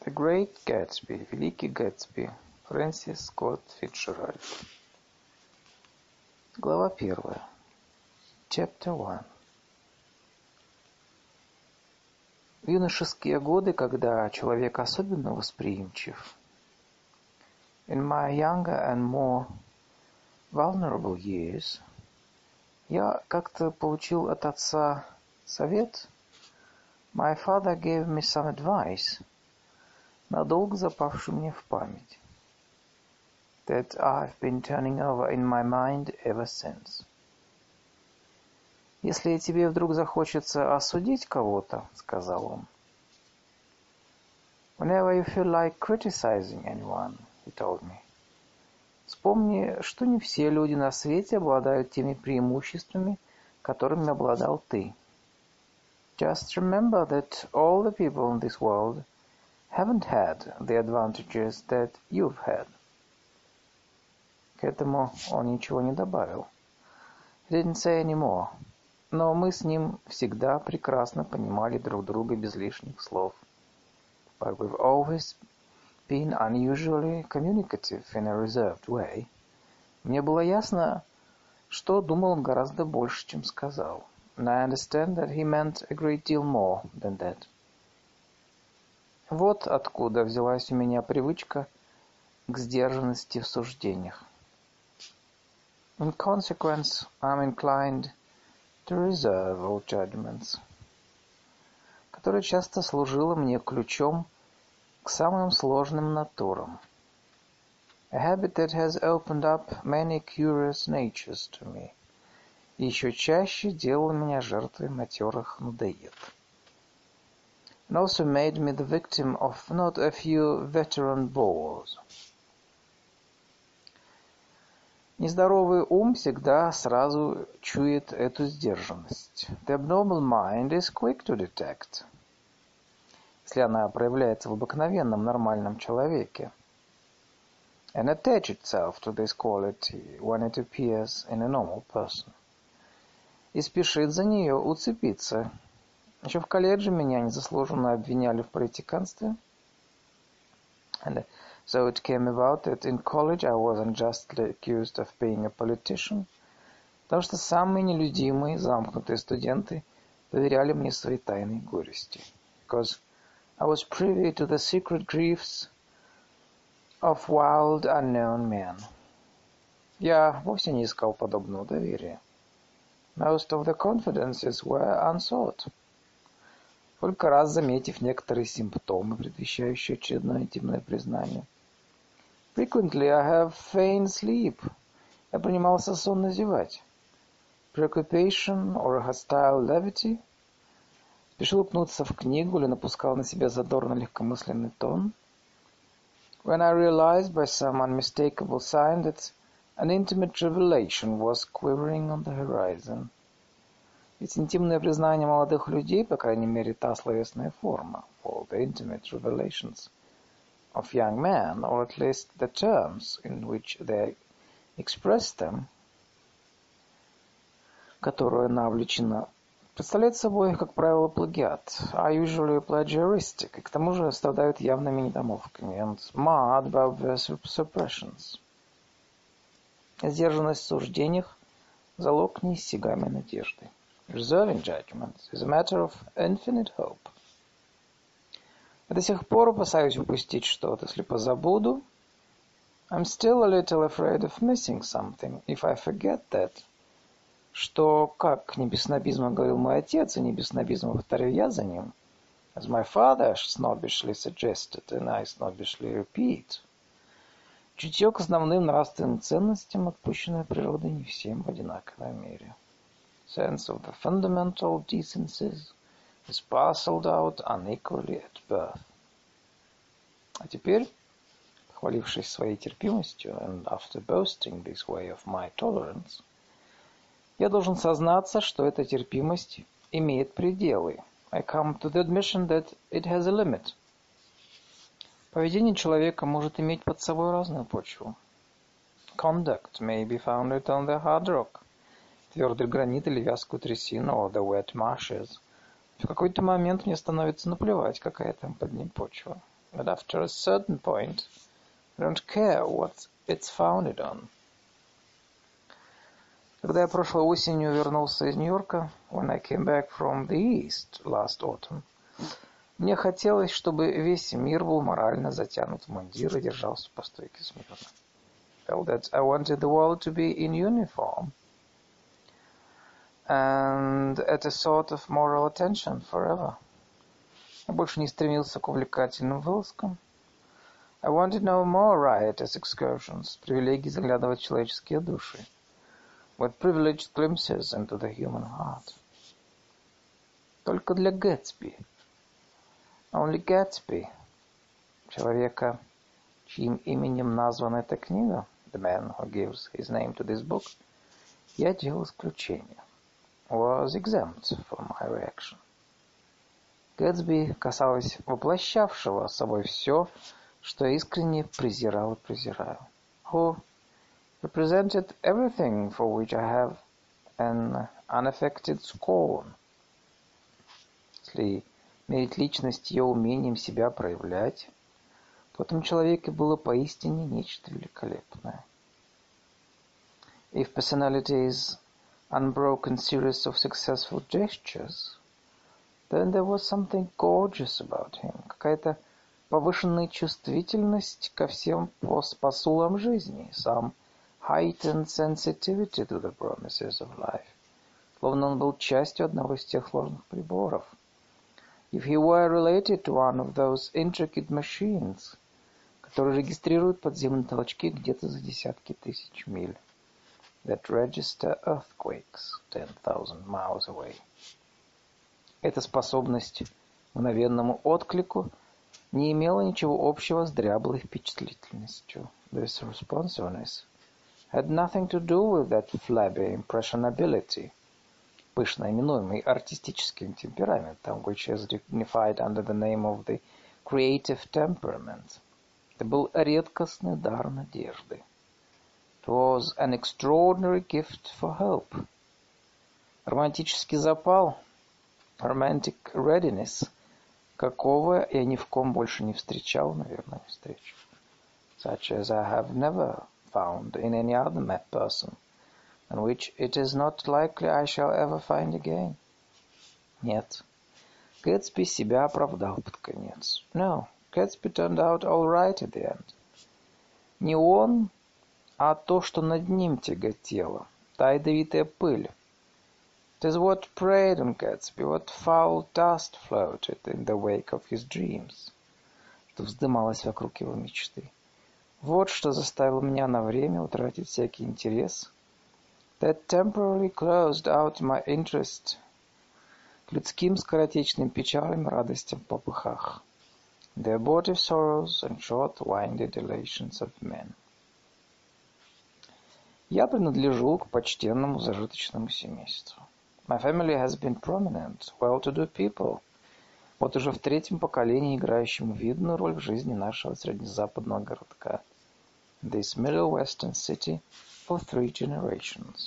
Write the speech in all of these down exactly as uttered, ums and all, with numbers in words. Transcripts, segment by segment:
The Great Gatsby, Великий Гэтсби, Фрэнсис Скотт Фицджеральд. Глава первая. Chapter one. В юношеские годы, когда человек особенно восприимчив, in my younger and more vulnerable years, я как-то получил от отца совет. My father gave me some advice, надолго запавший мне в память, that I've been turning over in my mind ever since. Если тебе вдруг захочется осудить кого-то, сказал он, whenever you feel like criticizing anyone, he told me, вспомни, что не все люди на свете обладают теми преимуществами, которыми обладал ты. Just remember that all the people in this world haven't had the advantages that you've had. К этому он ничего не добавил. He didn't say any more. Но мы с ним всегда прекрасно понимали друг друга без лишних слов. But we've always been unusually communicative in a reserved way. Мне было ясно, что думал он гораздо больше, чем сказал. And I understand that he meant a great deal more than that. Вот откуда взялась у меня привычка к сдержанности в суждениях. In consequence, I'm inclined to reserve all judgments, которая часто служила мне ключом к самым сложным натурам. A habit that has opened up many curious natures to me. И еще чаще делала меня жертвой матерых надоед. And also made me the victim of not a few veteran bores. Нездоровый ум всегда сразу чует эту сдержанность. The abnormal mind is quick to detect. Если она проявляется в обыкновенном нормальном человеке. And attach itself to this quality when it appears in a normal person. И спешит за нее уцепиться. Еще в колледже меня незаслуженно обвиняли в политиканстве. And so it came about that in college I was unjustly accused of being a politician, потому что самые нелюдимые, замкнутые студенты доверяли мне свои тайные горести. Because I was privy to the secret griefs of wild, unknown men. Я вовсе не искал подобного доверия. Most of the confidences were unsought. Только раз заметив некоторые симптомы, предвещающие очередное интимное признание. Frequently I have feigned sleep. Я принимался сонно зевать. Preoccupation or hostile levity. Спешил упнуться в книгу или напускал на себя задорно-легкомысленный тон. When I realized by some unmistakable sign that an intimate revelation was quivering on the horizon. Ведь интимное признание молодых людей, по крайней мере, та словесная форма, or the intimate revelations of young men, or at least the terms in which they express them, которую она облечена, представляет собой, как правило, плагиат, are usually plagiaristic, и к тому же страдают явными недомолвками, and marred by obvious suppressions. Сдержанность в суждениях – залог неиссякаемой надежды. Reserving judgments is a matter of infinite hope. Я до сих пор опасаюсь упустить что-то, если позабуду. I'm still a little afraid of missing something, if I forget that. Что, как не без снобизма говорил мой отец, и не без снобизма повторю я за ним, as my father snobbishly suggested, and I snobbishly repeat, чутье к основным нравственным ценностям, отпущенное природой не всем в одинаковой мере. Sense of the fundamental decencies is parceled out unequally at birth. А теперь, похвалившись своей терпимостью, and after boasting this way of my tolerance, я должен сознаться, что эта терпимость имеет пределы. I come to the admission that it has a limit. Поведение человека может иметь под собой разную почву. Conduct may be founded on the hard rock, твердый гранит или вязкую трясину, or the wet marshes. В какой-то момент мне становится наплевать, какая там под ним почва. but after a certain point, we don't care what it's founded on. Когда я прошлой осенью вернулся из Нью-Йорка, when I came back from the East last autumn, мне хотелось, чтобы весь мир был морально затянут в мундир и держался по стойке смирно. Felt that I wanted the world to be in uniform and at a sort of moral attention forever. Я больше не стремился к увлекательным вылазкам. I wanted no more riotous excursions, привилегии заглядывать в человеческие души, with privileged glimpses into the human heart. Только для Гэтсби, only Gatsby, человека, чьим именем названа эта книга, the man who gives his name to this book, я делал исключение, was exempt from my reaction. Гэтсби касалось воплощавшего собой все, что я искренне презирал и презираю. Who represented everything for which I have an unaffected scorn. Если мерить личность ее умением себя проявлять, в этом человеке было поистине нечто великолепное. If personality is unbroken series of successful gestures, then there was something gorgeous about him, какая-то повышенная чувствительность ко всем посулам жизни, some heightened sensitivity to the promises of life, словно он был частью одного из тех сложных приборов. If he were related to one of those intricate machines, которые регистрируют подземные толчки где-то за десятки тысяч миль, that register earthquakes ten thousand miles away. Эта способность к мгновенному отклику не имела ничего общего с дряблой впечатлительностью. This responsiveness had nothing to do with that flabby impressionability, пышно именуемый артистическим темпераментом, which is dignified under the name of the creative temperament. Это был редкостный дар надежды. It was an extraordinary gift for hope. Романтический запал, romantic readiness, какого я ни в ком больше не встречал, наверное, не встречу. Such as I have never found in any other mad person, and which it is not likely I shall ever find again. Нет. Гэтсби себя оправдал под конец. No, Gatsby turned out all right at the end. Не он, а то, что над ним тяготело, та ядовитая пыль. It is what preyed on Gatsby, what foul dust floated in the wake of his dreams, что вздымалось вокруг его мечты. Вот что заставило меня на время утратить всякий интерес. That temporarily closed out my interest к людским скоротечным печалям, радостям в попыхах. The abortive sorrows and short-winded elations of men. Я принадлежу к почтенному зажиточному семейству. My family has been prominent, well-to-do people. Вот уже в третьем поколении играющему видную роль в жизни нашего среднезападного городка. This middle western city for three generations.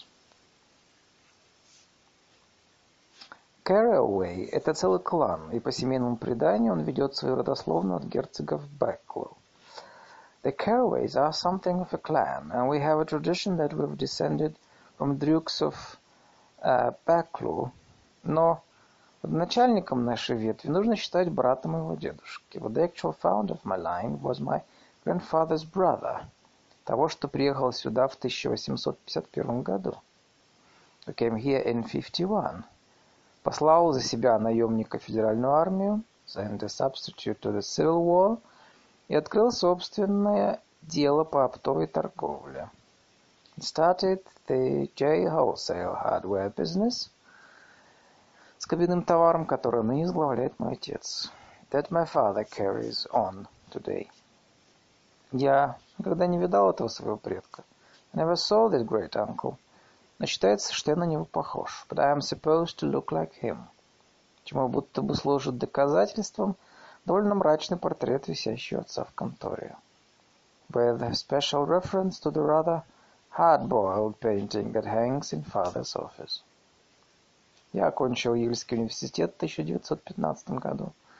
Carraway – это целый клан, и по семейному преданию он ведет свою родословную от герцогов Бэклоу. The Carraways are something of a clan, and we have a tradition that we've descended from Dukes of uh, Backlaw, но начальником нашей ветви нужно считать брата моего дедушки. But the actual founder of my line was my grandfather's brother, того, что приехал сюда в тысяча восемьсот пятьдесят первом году. Who came here in fifty-one. Послал за себя наемника в федеральную армию, sent a substitute to the Civil War, и открыл собственное дело по оптовой торговле. He started the J. Wholesale Hardware Business, с кабинным товаром, который ныне возглавляет мой отец. That my father carries on today. Я никогда не видал этого своего предка. I never saw this great uncle. Но считается, что я на него похож. But I am supposed to look like him. Чему будто бы служит доказательством довольно мрачный портрет, висящий у отца в конторе. With a special reference to the rather hard-boiled painting that hangs in father's office. Я окончил Ельский университет в тысяча девятьсот пятнадцатом году.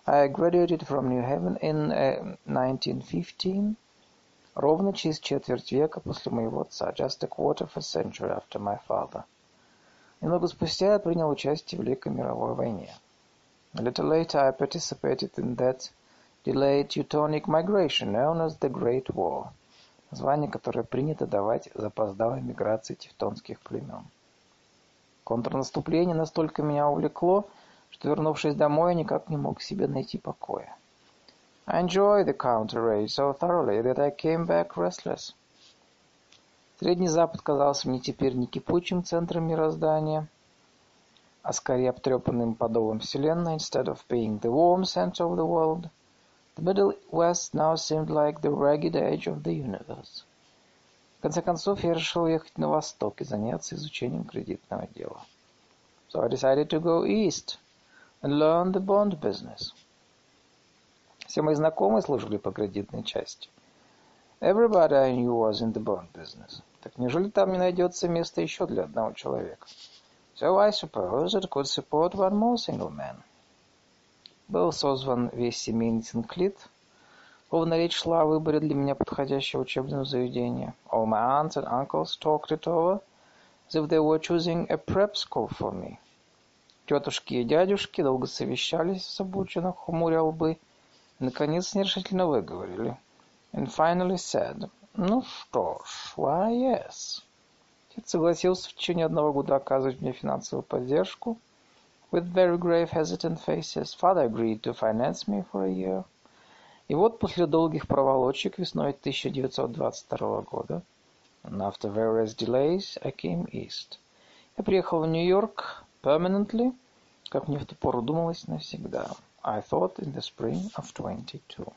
I graduated from New Haven in uh, nineteen fifteen, ровно через четверть века после моего отца, just a quarter of a century after my father. Немного спустя я принял участие в Великой мировой войне. A little later I participated in that delayed Teutonic migration known as the Great War, название, которое принято давать запоздалой миграции тевтонских племен. Контрнаступление настолько меня увлекло, что, вернувшись домой, я никак не мог себе найти покоя. I enjoyed the counter-raid so thoroughly that I came back restless. Средний Запад казался мне теперь не кипучим центром мироздания, а скорее обтрепанным подолом вселенной. Instead of being the warm center of the world, the Middle West now seemed like the ragged edge of the universe. В конце концов, я решил ехать на восток и заняться изучением кредитного дела. So I decided to go east and learn the bond business. Все мои знакомые служили по кредитной части. Everybody I knew was in the bond business. Так неужели там не найдется места еще для одного человека? So I suppose it could support one more single man. Был созван весь семейный Синклит. Ровно речь шла о выборе для меня подходящего учебного заведения. All my aunts and uncles talked it over as if they were choosing a prep school for me. Тетушки и дядюшки долго совещались с обученных, хмуря лбы, и, наконец, нерешительно выговорили. And finally said, ну что ж, why yes. Отец согласился в течение одного года оказывать мне финансовую поддержку. With very grave hesitant faces, father agreed to finance me for a year. И вот после долгих проволочек весной тысяча девятьсот двадцать второго года, and after various delays, I came east. Я приехал в Нью-Йорк permanently, как мне в ту пору думалось, навсегда. I thought in the spring of twenty-two.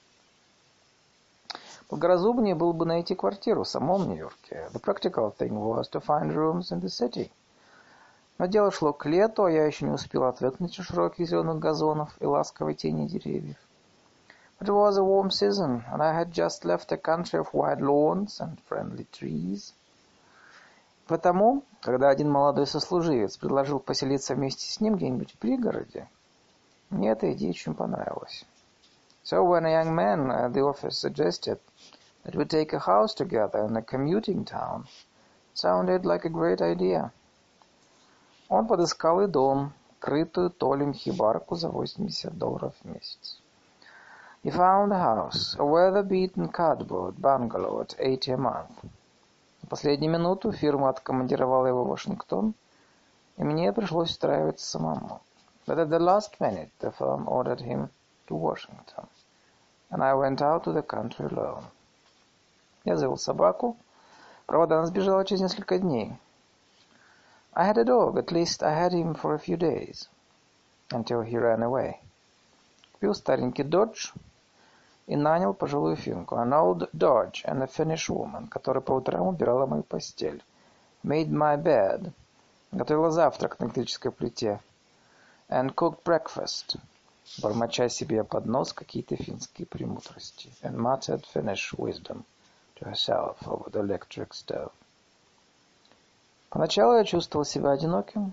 Благоразумнее было бы найти квартиру в самом Нью-Йорке. The practical thing was to find rooms in the city. Но дело шло к лету, а я еще не успел отвыкнуть от широких зеленых газонов и ласковой тени деревьев. It was a warm season, and I had just left a country of wide lawns and friendly trees. Потому, когда один молодой сослуживец предложил поселиться вместе с ним где-нибудь в пригороде, мне эта идея очень понравилась. So when a young man at the office suggested that we take a house together in a commuting town, it sounded like a great idea. Он подыскал и дом, крытую толем хибарку за восемьдесят долларов в месяц. He found a house, a weather-beaten cardboard bungalow at eighty a month. На последнюю минуту фирма откомандировала его в Вашингтон, и мне пришлось устраиваться самому. But at the last minute, the firm ordered him to Washington, and I went out to the country alone. Я завел собаку. Правда, она сбежала через несколько дней. I had a dog, at least I had him for a few days, until he ran away. Купил старенький Dodge и нанял пожилую финку, an old Dodge and a Finnish woman, которая по утрам убирала мою постель, made my bed, готовила завтрак на электрической плите, and cooked breakfast, бормоча себе под нос какие-то финские премудрости, and muttered Finnish wisdom to herself over the electric stove. Поначалу я чувствовал себя одиноким,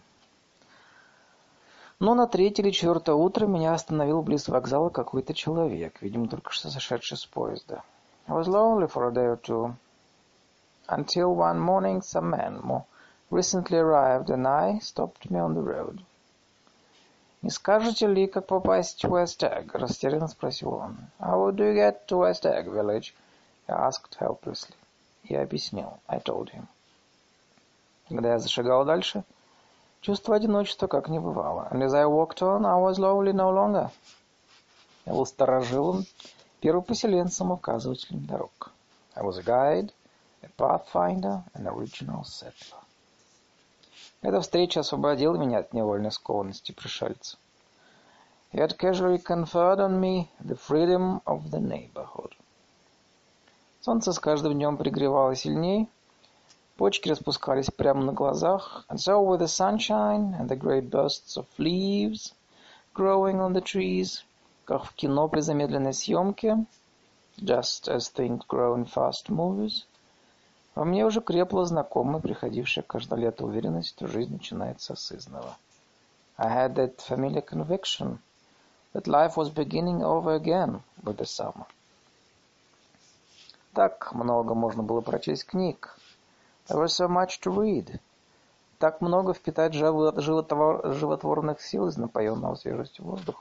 но на третье или четвертое утро меня остановил близ вокзала какой-то человек, видимо, только что сошедший с поезда. I was lonely for a day or two, until one morning some man more recently arrived and I stopped me on the road. «Не скажете ли, как попасть в West Egg?» – растерянно спросил он. «How do you get to West Egg Village?» – I asked helplessly. Я объяснил. I told him. Когда я зашагал дальше, чувство одиночества как не бывало. And as I walked on, I was lonely no longer. Я был старожилом, первопоселенцем, указывателем дорог. I was a guide, a pathfinder, an original settler. Эта встреча освободила меня от невольной скованности пришельца. He had casually conferred on me the freedom of the neighborhood. Солнце с каждым днем пригревало сильней, почки распускались прямо на глазах, and so with the sunshine and the great bursts of leaves growing on the trees, как в кино при замедленной съемке, just as things grow in fast movies, во мне уже крепла знакомая, приходившая каждое лето уверенность, что жизнь начинается с изного. I had that familiar conviction that life was beginning over again with the summer. Так много можно было прочесть книг. There was so much to read. Так много впитать животворных сил из напоенного свежестью воздуха.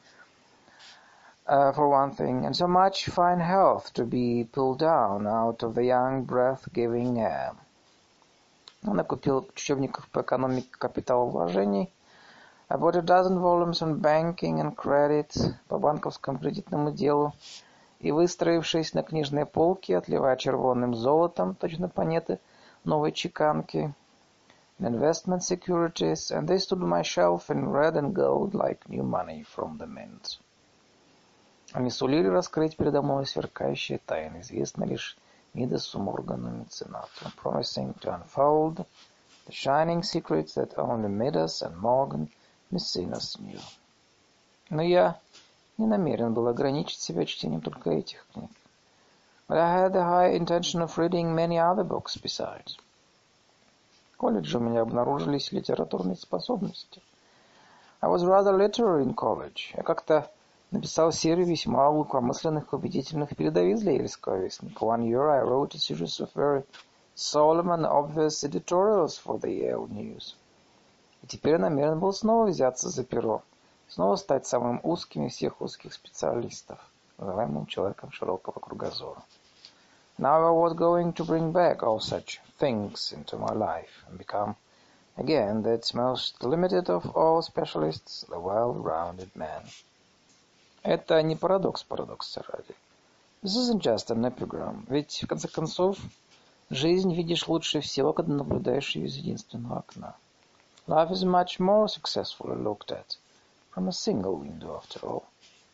Uh, for one thing, and so much fine health to be pulled down out of the young breath-giving air. Он накупил учебников по экономике капиталовложений. I bought a dozen volumes on banking and credit, по банковскому кредитному делу, и, выстроившись на книжной полке, отливая червонным золотом, точно монеты новой чеканки, in investment securities, and they stood on my shelf in red and gold like new money from the mint. Они сулили раскрыть передо мной сверкающие тайны, известны лишь Мидасу, Моргану и Меценату, promising to unfold the shining secrets that only Midas and Morgan Maecenas knew. Но я не намерен был ограничить себя чтением только этих книг. But I had the high intention of reading many other books besides. В колледже у меня обнаружились литературные способности. I was rather literary in college. Я как-то написал серию весьма глубокомысленных убедительных передовиц для Ельского вестника. One year I wrote a series of very solemn and obvious editorials for the Yale News. И теперь я намерен был снова взяться за перо, снова стать самым узким из всех узких специалистов, называемым человеком широкого кругозора. Now I was going to bring back all such things into my life and become again that most limited of all specialists, the well-rounded man. Это не парадокс парадокса ради. This isn't just an epigram. Ведь, в конце концов, жизнь видишь лучше всего, когда наблюдаешь ее из единственного окна. Life is much more successfully looked at from a single window, after all.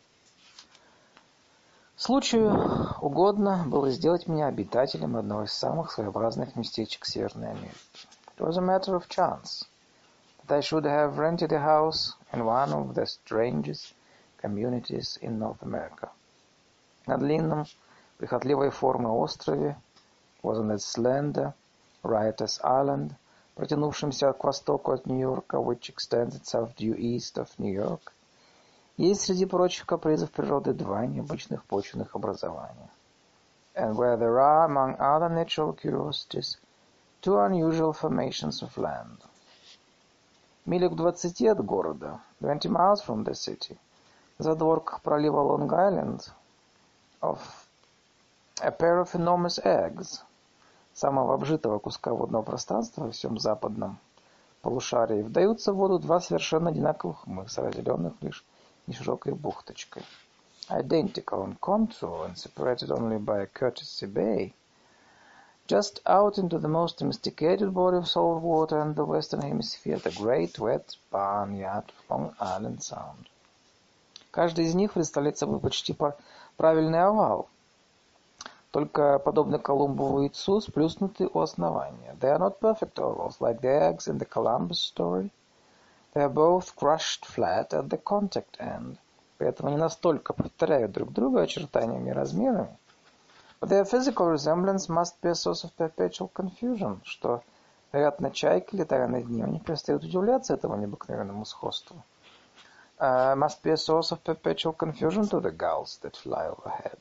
Случаю угодно было сделать меня обитателем одного из самых своеобразных местечек Северной Америки. It was a matter of chance that I should have rented a house in one of the strangest communities in North America. На длинном, прихотливой формы острове, was on that slender, riotous island, протянувшемся к востоку от Нью-Йорка, which extends itself due east of New York, есть среди прочих капризов природы два необычных почвенных образования. And where there are, among other natural curiosities, two unusual formations of land. Милях в двадцати от города, twenty miles from the city, в задворках пролива Лонг-Айленд, of a pair of enormous eggs, самого обжитого куска водного пространства во всем западном полушарии, вдаются в воду два совершенно одинаковых мыса, разделенных лишь неширокой бухточкой. Identical on contour and separated only by a courtesy bay, just out into the most domesticated body of salt water in the western hemisphere, the great wet barnyard of Long Island Sound. Каждый из них представляет собой почти правильный овал, только, подобно Колумбову яйцу, сплюснуты у основания. They are not perfect ovals, like the eggs in the Columbus story. They are both crushed flat at the contact end. При этом они настолько повторяют друг друга очертаниями и размерами, but their physical resemblance must be a source of perpetual confusion, что, вероятно, чайки, летая над ним, не перестают удивляться этому необыкновенному сходству. Uh, must be a source of perpetual confusion to the gulls that fly overhead.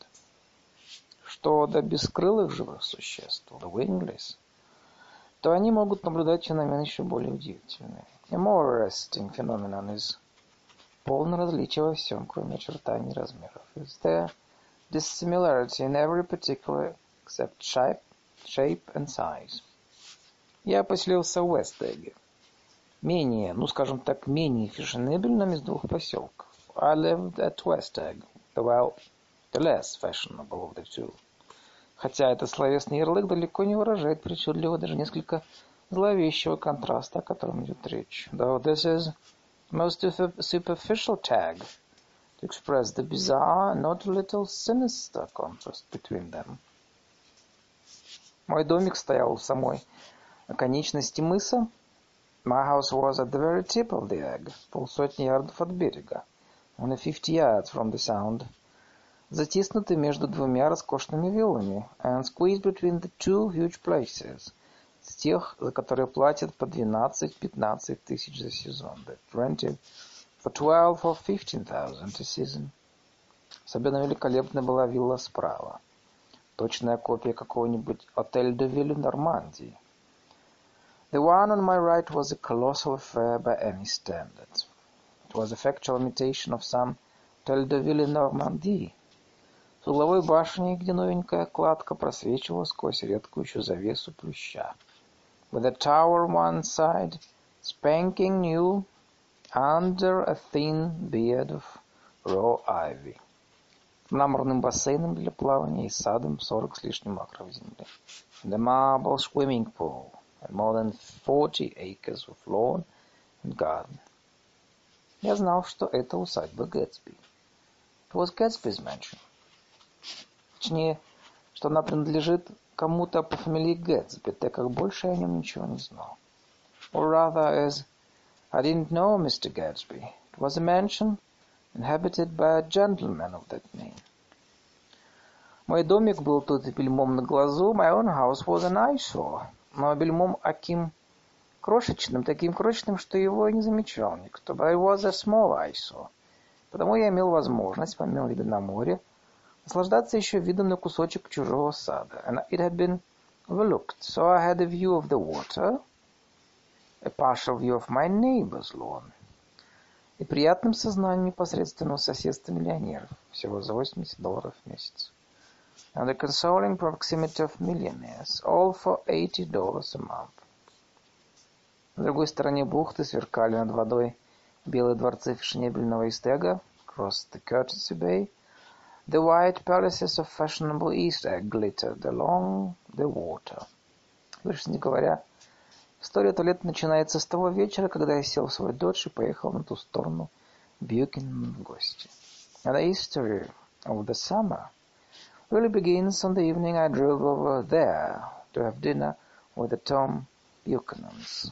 Что до бескрылых живых существ, the wingless, то они могут наблюдать феномен еще более удивительный. A more arresting phenomenon is полное различие во всем, кроме очертаний и размеров. Is there dissimilarity in every particular except shape, shape and size. Я поселился в Уэст-Эгге. Менее, ну скажем так, менее фешенебельном из двух поселков. I lived at West Egg, the well, the less fashionable of the two. Хотя этот словесный ярлык далеко не выражает причудливого, даже несколько зловещего контраста, о котором идет речь. Though this is most superficial tag to express the bizarre, not a little sinister contrast between them. Мой домик стоял в самой оконечности мыса. My house was at the very tip of the egg, полсотни ярдов от берега, only fifty yards from the sound, затиснутый между двумя роскошными виллами, and squeezed between the two huge places, с тех, за которые платят по двенадцать-пятнадцать тысяч за сезон, that rented for twelve or fifteen thousand a season. Особенно великолепной была вилла справа. Точная копия какого-нибудь Отель де Вилле Нормандии. The one on my right was a colossal affair by any standard. It was a factual imitation of some Hotel de Ville Normandie. С угловой башней, где новенькая кладка просвечивала сквозь редкую еще завесу плюща. With a tower on one side, spanking new, under a thin beard of raw ivy. Мраморным бассейном для плавания и садом сорок с лишним акров земли. And a marble swimming pool, and more than forty acres of lawn and garden. Я знал, что это усадьба Гэтсби. It was Gatsby's mansion. Точнее, что она принадлежит кому-то по фамилии Гэтсби, так как больше я о нем ничего не знал. Or rather, as I didn't know Mister Gatsby. It was a mansion inhabited by a gentleman of that name. Мой домик был тут бельмом на глазу. My own house was an eyesore. Но бельмом аким крошечным, таким крошечным, что его не замечал никто. But it was a small eyesore. Потому я имел возможность, помимо вида на море, наслаждаться еще видом на кусочек чужого сада. And it had been overlooked. So I had a view of the water, a partial view of my neighbor's lawn. И приятным сознанием непосредственного соседства миллионеров, всего за восемьдесят долларов в месяц. And the consoling proximity of millionaires, all for eighty dollars a month. На другой стороне бухты сверкали над водой белые дворцы фешенебельного Истега, across the Courtesy Bay. The white palaces of fashionable East Egg glittered along the water. Лучше не говоря, история туалета начинается с того вечера, когда я сел в свой додж и поехал на ту сторону Бьюкенен в гости. And the history of the summer really begins on the evening I drove over there to have dinner with the Tom Buchanans.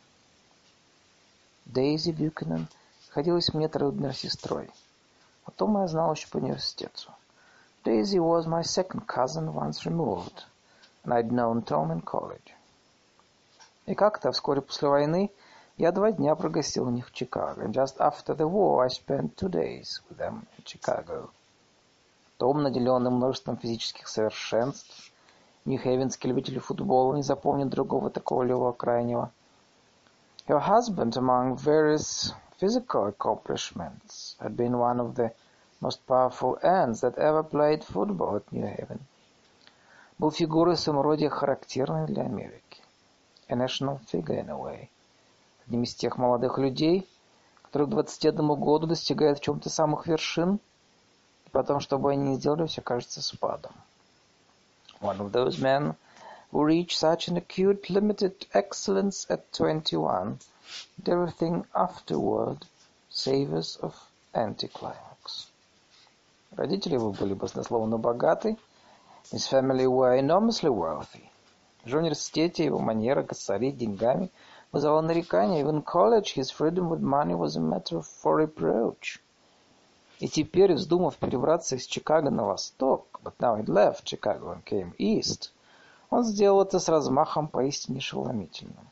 Дейзи Бьюкенен ходилась мне трудной сестрой. Потом я знал еще по университету. Daisy was my second cousin once removed, and I'd known Tom in college. И как-то вскоре после войны я два дня прогостил у них в Чикаго. And just after the war I spent two days with them in Chicago. Том, наделенный множеством физических совершенств, нью-хейвенский любитель футбола, не запомнит другого такого левого крайнего. Her husband, among various physical accomplishments, had been one of the most powerful ends that ever played football at New Haven. Был фигурой в своем роде характерной для Америки. A national figure in a way. Одним из тех молодых людей, которые к двадцати одному году достигают в чем-то самых вершин, и потом, что бы они ни сделали, все кажется спадом. One of those men who reach such an acute limited excellence at twenty-one, that everything afterward savors of anticlimax. Родители его были баснословно богаты. His family were enormously wealthy. В университете его манера косорить деньгами вызывала нарекания. Even in college his freedom with money was a matter for reproach. И теперь, вздумав перебраться из Чикаго на восток, but now he left Chicago and came east, он сделал это с размахом поистине ошеломительным.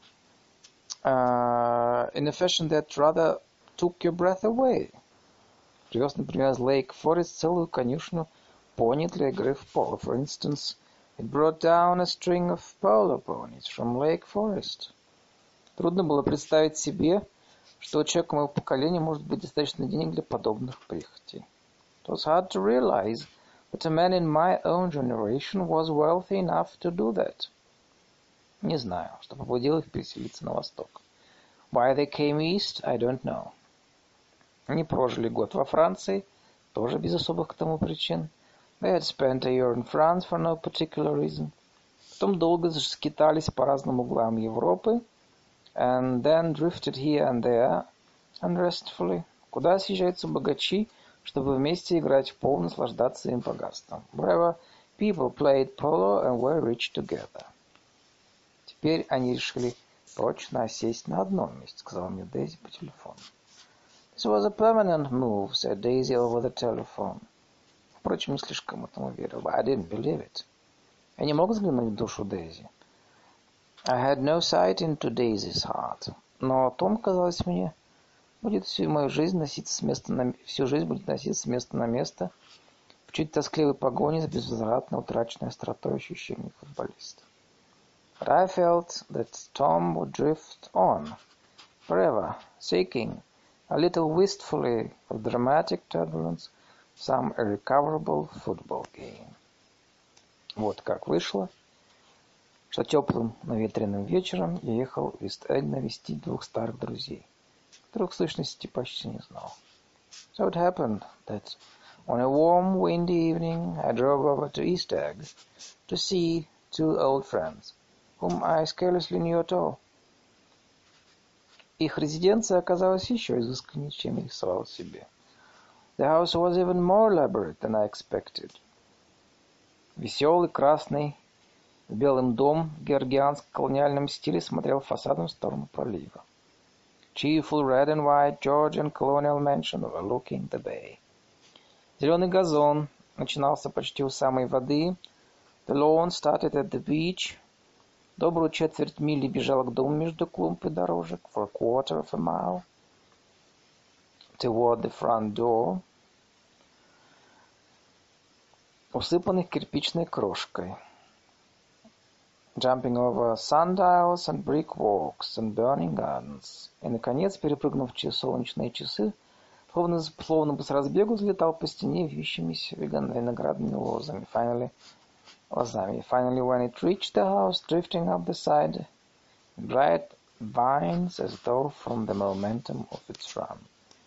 Uh, in a fashion that rather took your breath away. Привез, например, из Lake Forest целую конюшню пони для игры в поло. For instance, it brought down a string of polo ponies from Lake Forest. Трудно было представить себе, что у человека моего поколения может быть достаточно денег для подобных прихотей. It was hard to realize that a man in my own generation was wealthy enough to do that. Не знаю, что побудило их переселиться на восток. Why they came east, I don't know. Они прожили год во Франции, тоже без особых к тому причин. They had spent a year in France for no particular reason. Потом долго скитались по разным углам Европы, and then drifted here and there unrestfully. Куда съезжаются богачи, чтобы вместе играть в поло, наслаждаться им богатством. Wherever people played polo and were rich together. Теперь они решили прочно осесть на одном месте, сказала мне Дейзи по телефону. This was a permanent move, said Daisy over the telephone. Впрочем, не слишком этому верил. But I didn't believe it. Я не мог взглянуть в душу Дейзи. I had no sight into Daisy's heart. Но Том, казалось мне, будет всю мою жизнь носиться с места на всю жизнь будет носиться с места на место в чуть тоскливой погоне с безвозвратно утраченной остротой ощущений футболиста. But I felt that Tom would drift on, forever, seeking, a little wistfully of dramatic turbulence, some irrecoverable football game. Вот как вышло, что теплым наветренным вечером я ехал в Ист-Эгг навестить двух старых друзей, которых в сущности почти не знал. So it happened that on a warm, windy evening I drove over to East Egg to see two old friends, whom I scarcely knew at all. Их резиденция оказалась еще изысканнее, чем я рисовал себе. The house was even more elaborate than I expected. Веселый, красный, с белым дом в георгианско-колониальном стиле смотрел фасадом в сторону пролива. Cheerful red and white Georgian colonial mansion overlooking the bay. Зеленый газон начинался почти у самой воды. The lawn started at the beach. Добрую четверть мили бежала к дому между клумб и дорожек. For a quarter of a mile. Toward the front door. Усыпанный кирпичной крошкой. Jumping over sundials and brick walks and burning gardens. И, наконец, перепрыгнув через солнечные часы, словно, словно бы с разбегу взлетал по стене вьющимися виноградными лозами. Finally, лозами. Finally, when it reached the house, drifting up the side, bright vines as though from the momentum of its run.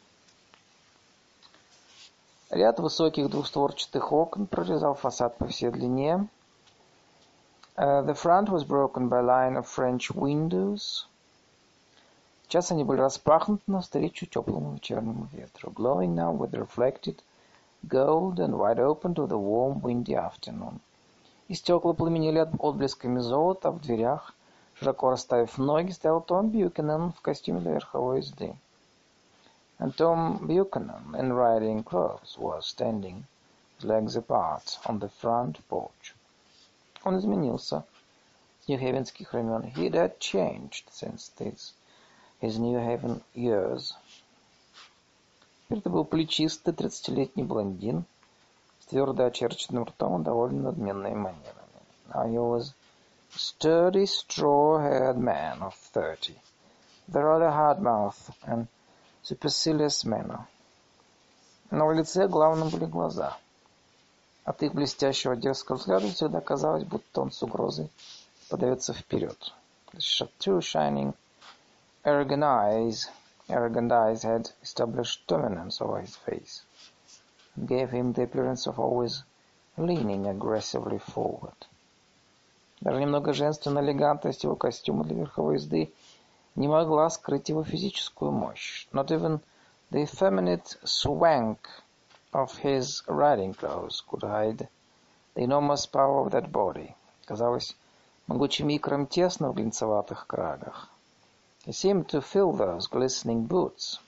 Ряд высоких двустворчатых окон прорезал фасад по всей длине. Uh, the front was broken by a line of French windows. Сейчас они были распахнуты навстречу теплому вечернему ветру, glowing now with reflected gold and wide open to the warm windy afternoon. И стекла пламенели отблесками золота, а в дверях, широко расставив ноги, стоял Том Бьюкенен в костюме для верховой езды. And Tom Buchanan, in riding clothes, was standing, his legs apart, on the front porch. Он изменился с нью-хейвенских времен. He had changed since this, his New Haven years. Теперь это был плечистый тридцатилетний блондин с твердо очерченным ртом и довольно надменными манерами. Now he was a sturdy, straw-haired man of thirty, with a rather hard mouth and supercilious manner. На его лице главным были глаза. От их блестящего дерзкого взгляда всегда казалось, будто он с угрозой подается вперед. The two shining, arrogant eyes, arrogant eyes had established dominance over his face, and gave him the appearance of always leaning aggressively forward. Даже немного женственная элегантность его костюма для верховой езды не могла скрыть его физическую мощь. Not even the effeminate swank of his riding clothes could hide the enormous power of that body. Казалось, могучим икрам тесно в глинцеватых крагах. He seemed to fill those glistening boots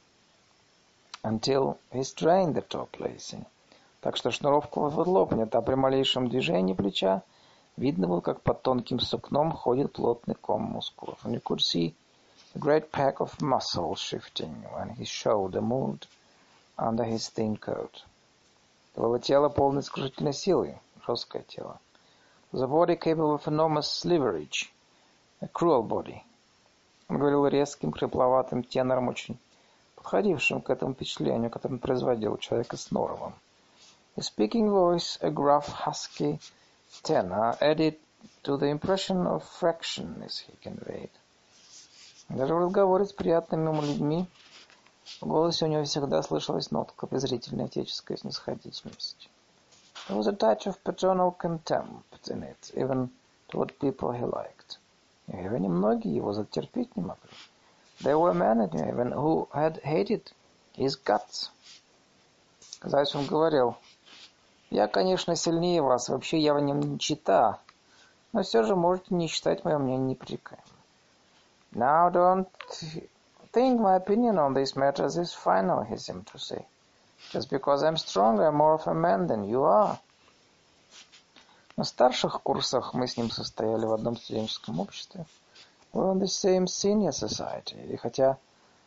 until he strained the top lacing. Так что шнуровка вот лопнет, а при малейшем движении плеча видно было, как под тонким сукном ходит плотный ком мускулов. And you could see a great pack of muscles shifting when his shoulder moved under his thin coat. Это было тело полной сокрушительной силы, жесткое тело. The body capable of enormous leverage, a cruel body. Он говорил резким, хрипловатым тенором, очень подходившим к этому впечатлению, которое он производил у человека с норовом. His speaking voice, a gruff, husky tenor, added to the impression of fractionness he conveyed. Даже в разговоре с приятными ему людьми в голосе у него всегда слышалась нотка презрительной отеческой снисходительности. There was a touch of paternal contempt in it, even toward people he liked. В Нью-Хейвене многие его затерпеть не могли. There were men in New Haven who had hated his guts. Казалось, он говорил: «Я, конечно, сильнее вас, вообще я в нем не чита, но все же можете не считать мое мнение непререкаемым». Now don't think my opinion on these matters is final, he seemed to say. Just because I'm stronger, I'm more of a man than you are. На старших курсах мы с ним состояли в одном студенческом обществе. We're on the same senior society. И хотя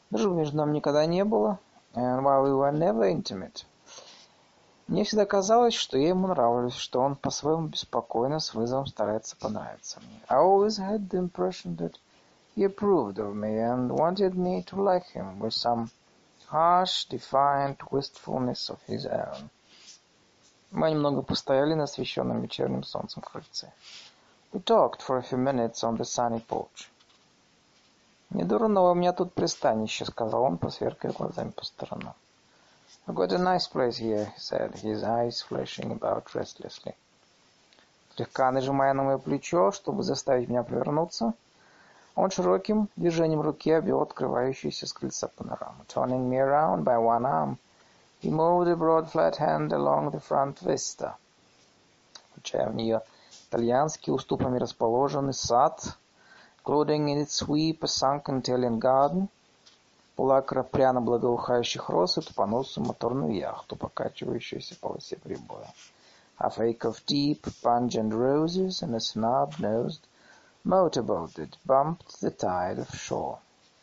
Дружбы между нами никогда не было, and while we were never intimate, мне всегда казалось, что я ему нравлюсь, что он по-своему беспокойно, с вызовом старается понравиться мне. I always had the impression that he approved of me and wanted me to like him with some harsh, defiant wistfulness of his own. Мы немного постояли на освещенном вечерним солнцем крыльце. We talked for a few minutes on the sunny porch. «Не дурно у меня тут пристанище», — сказал он, посверкая глазами по сторонам. «I've got a nice place here», he said, his eyes flashing about restlessly. Слегка нажимая на мое плечо, чтобы заставить меня повернуться, он широким движением руки обвел открывающуюся с крыльца панораму. Turning me around by one arm, he moved a broad flat hand along the front vista. Включая в нее итальянский уступами расположенный сад, including in its sweep a sunken Italian garden, полакра пряно благоухающих роз и тупоносую моторную яхту, покачивающуюся в полосе прибоя. Half acre of deep, pungent roses and a snub-nosed motorboat that bumped the tide of shore.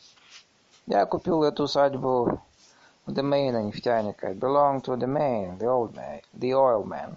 Я купил эту усадьбу у Демейна нефтяника. It belonged to Demain, the old man, the oil man.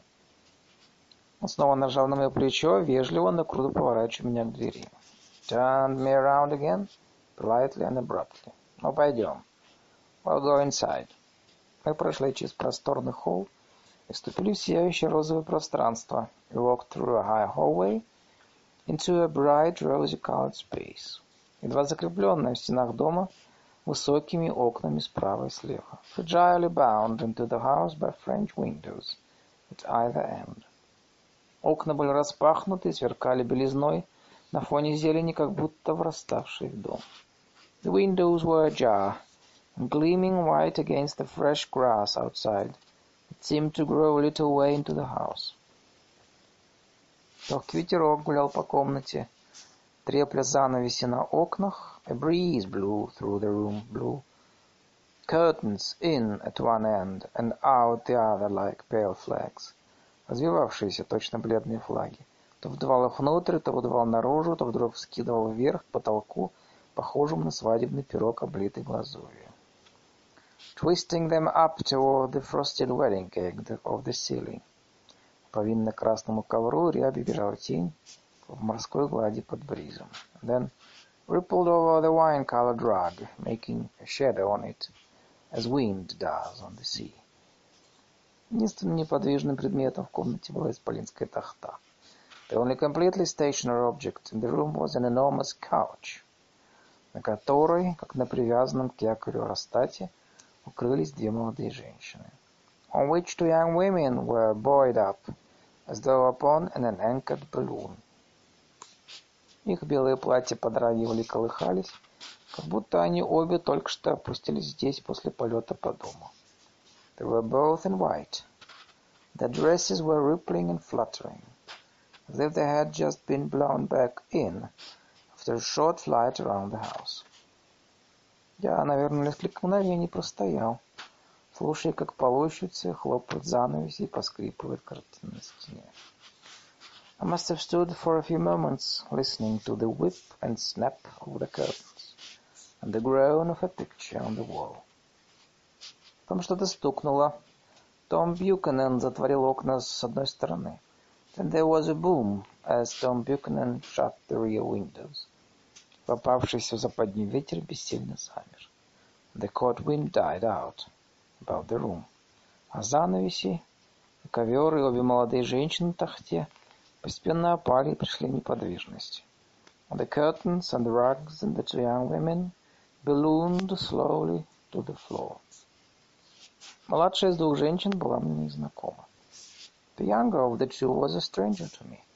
Он снова нажал на мое плечо, вежливо, но круто поворачивая меня к двери. Turned me around again, politely and abruptly. Ну, пойдем. We'll go inside. Мы прошли через просторный холл и вступили в сияющее розовое пространство. We walked through a high hallway into a bright rosy-colored space, едва закрепленная в стенах дома высокими окнами справа и слева. Fragilely bound into the house by French windows at either end. Окна были распахнуты и сверкали белизной на фоне зелени, как будто враставшей в дом. The windows were ajar, and gleaming white against the fresh grass outside. It seemed to grow a little way into the house. Легкий ветерок гулял по комнате, трепля занавеси на окнах. A breeze blew through the room, blew curtains in at one end and out the other like pale flags, развивавшиеся точно бледные флаги. То вдувал их внутрь, то выдувал наружу, то вдруг вскидывал вверх к потолку, похожему на свадебный пирог, облитый глазурью. Twisting them up toward the frosted wedding cake of the ceiling. По винно-красному ковру рябью бежала тень в морской глади под бризом. Then rippled over the wine-colored rug, making a shadow on it, as wind does on the sea. Единственным неподвижным предметом в комнате была исполинская тахта. The only completely stationary object in the room was an enormous couch, на которой, как на привязанном к якорю аэростате, укрылись две молодые женщины. On which two young women were buoyed up, as though upon an anchored balloon. Их белые платья подрагивали и колыхались, как будто они обе только что опустились здесь после полета по дому. They were both in white. Their dresses were rippling and fluttering, as if they had just been blown back in after a short flight around the house. Я, наверное, несколько мгновений простоял, слушая, как полощутся, хлопают занавеси и поскрипывает картина на стене. I must have stood for a few moments, listening to the whip and snap of the curtains, and the groan of a picture on the wall. Там что-то стукнуло. Том Бьюкенен затворил окна с одной стороны. Then there was a boom, as Tom Buchanan shut the rear windows. Попавшийся в западню ветер бессильно замер. The cold wind died out about the room. А занавеси, ковер и обе молодые женщины на тахте постепенно опали и пришли в неподвижность. The curtains and the rugs and the two young women ballooned slowly to the floor. Младшая из двух женщин была мне незнакома. The younger of the two was a stranger to me.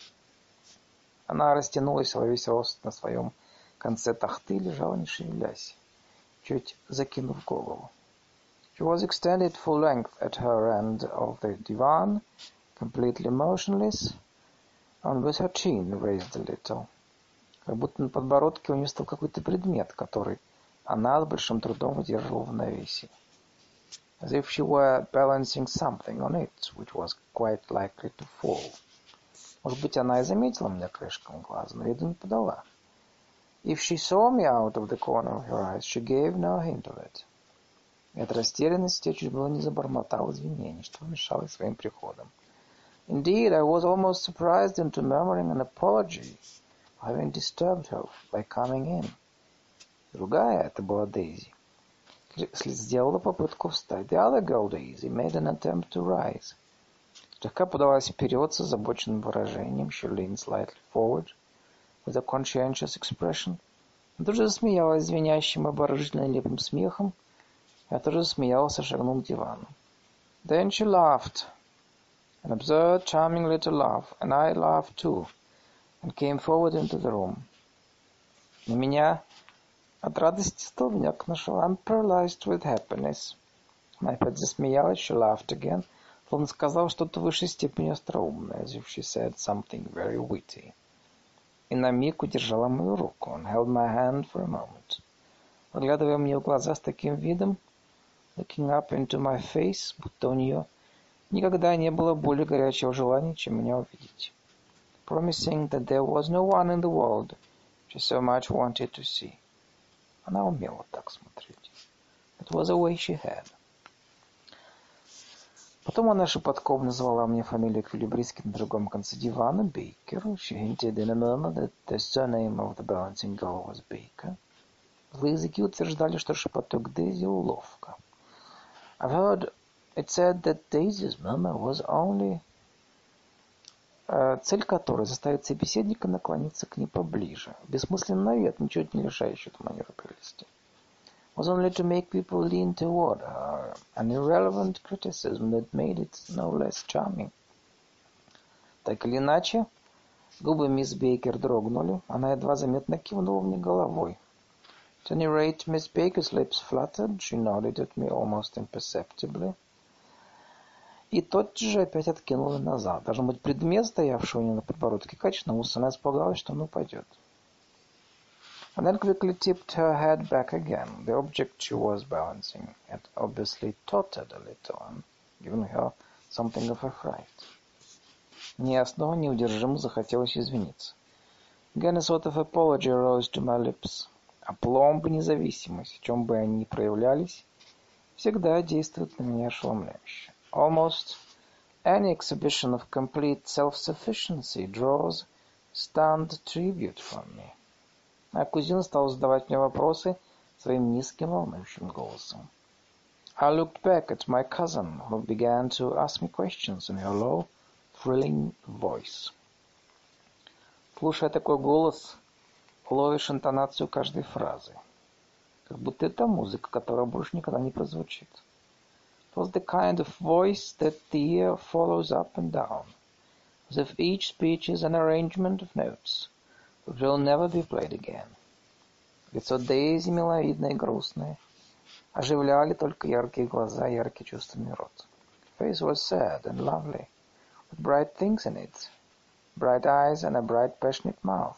Она растянулась во весь рост на своем конце тахты и лежала, не шевелясь, чуть закинув голову. She was extended full length at her end of the divan, completely motionless, and with her chin raised a little. Как будто на подбородке у нее стал какой-то предмет, который она с большим трудом удерживала в навесе. As if she were balancing something on it, which was quite likely to fall. Может быть, она и заметила меня краешком глаза, но виду не подала. If she saw me out of the corner of her eyes, she gave no hint of it. И от растерянности я чуть было не забормотал извинений, что мешало своим приходом. Indeed, I was almost surprised into murmuring an apology for having disturbed her by coming in. Другая, это была Дейзи, сделала попытку встать. The other girl, Daisy, made an attempt to rise. Слегка подалась вперед с озабоченным выражением. She leaned slightly forward with a conscientious expression. Она тоже засмеялась звенящим, обворожительно нелепым смехом. Я тоже засмеялся, шагнул к дивану. Then she laughed, an absurd, charming little laugh, and I laughed too, and came forward into the room. На меня от радости столбняк нашел. I'm paralyzed with happiness. Она опять засмеялась, she laughed again, словно сказала что-то в высшей степени остроумное, as if she said something very witty. И на миг удержала мою руку, and held my hand for a moment. Заглядывая мне в глаза с таким видом, looking up into my face, будто у нее никогда не было более горячего желания, чем меня увидеть. Promising that there was no one in the world she so much wanted to see. Она умела так смотреть. It was a way she had. Потом она шепотком назвала мне фамилию эквилибристки на другом конце дивана, Baker. She hinted in a murmur that the surname of the balancing girl was Baker. Злые языки утверждали, что шепоток Дейзи уловка. I've heard it said that Daisy's murmur was only... Uh, цель которой заставит собеседника наклониться к ней поближе. Бессмысленный навет, ничего не лишающий эту манеру прелести. Was only to make people lean toward her, an irrelevant criticism that made it no less charming. Так или иначе, губы мисс Бейкер дрогнули, она едва заметно кивнула мне головой. At any rate, Miss Baker's lips fluttered, she nodded at me almost imperceptibly. И тотчас же опять откинула назад. Должно быть, предмет, стоявший у нее на подбородке, качнулся, она испугалась, что он упадет. And then quickly tipped her head back again. The object she was balancing had obviously tottered a little and given her something of a fright. Мне снова неудержимо захотелось извиниться. Again a sort of apology rose to my lips. Апломб и независимость, в чем бы они ни проявлялись, всегда действуют на меня ошеломляюще. Almost any exhibition of complete self-sufficiency draws stunned tribute from me. Моя кузина стала задавать мне вопросы своим низким волнующим голосом. I looked back at my cousin, who began to ask me questions in her low, thrilling voice. Слушая такой голос, ловишь интонацию каждой фразы. Как будто это музыка, которая больше никогда не прозвучит. It was the kind of voice that the ear follows up and down, as if each speech is an arrangement of notes that will never be played again. Лицо Дейзи миловидное и грустное. Оживляли только яркие глаза и яркий чувственный рот. Face was sad and lovely, with bright things in it, bright eyes and a bright passionate mouth.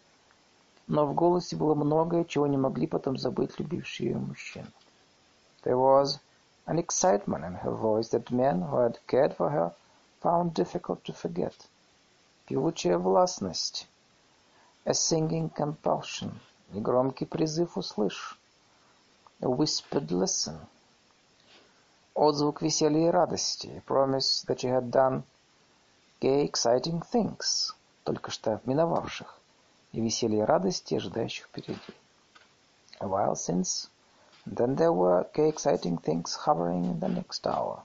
Но в голосе было многое, чего не могли потом забыть любившие ее мужчины. There was an excitement in her voice that men who had cared for her found difficult to forget. Певучая властность, a singing compulsion, негромкий призыв услышь, a whispered listen, отзвук веселья и радости, a promise that she had done gay, exciting things, только что миновавших, и веселье и радости, ожидающих впереди. A while since, and then there were gay, exciting things hovering in the next hour.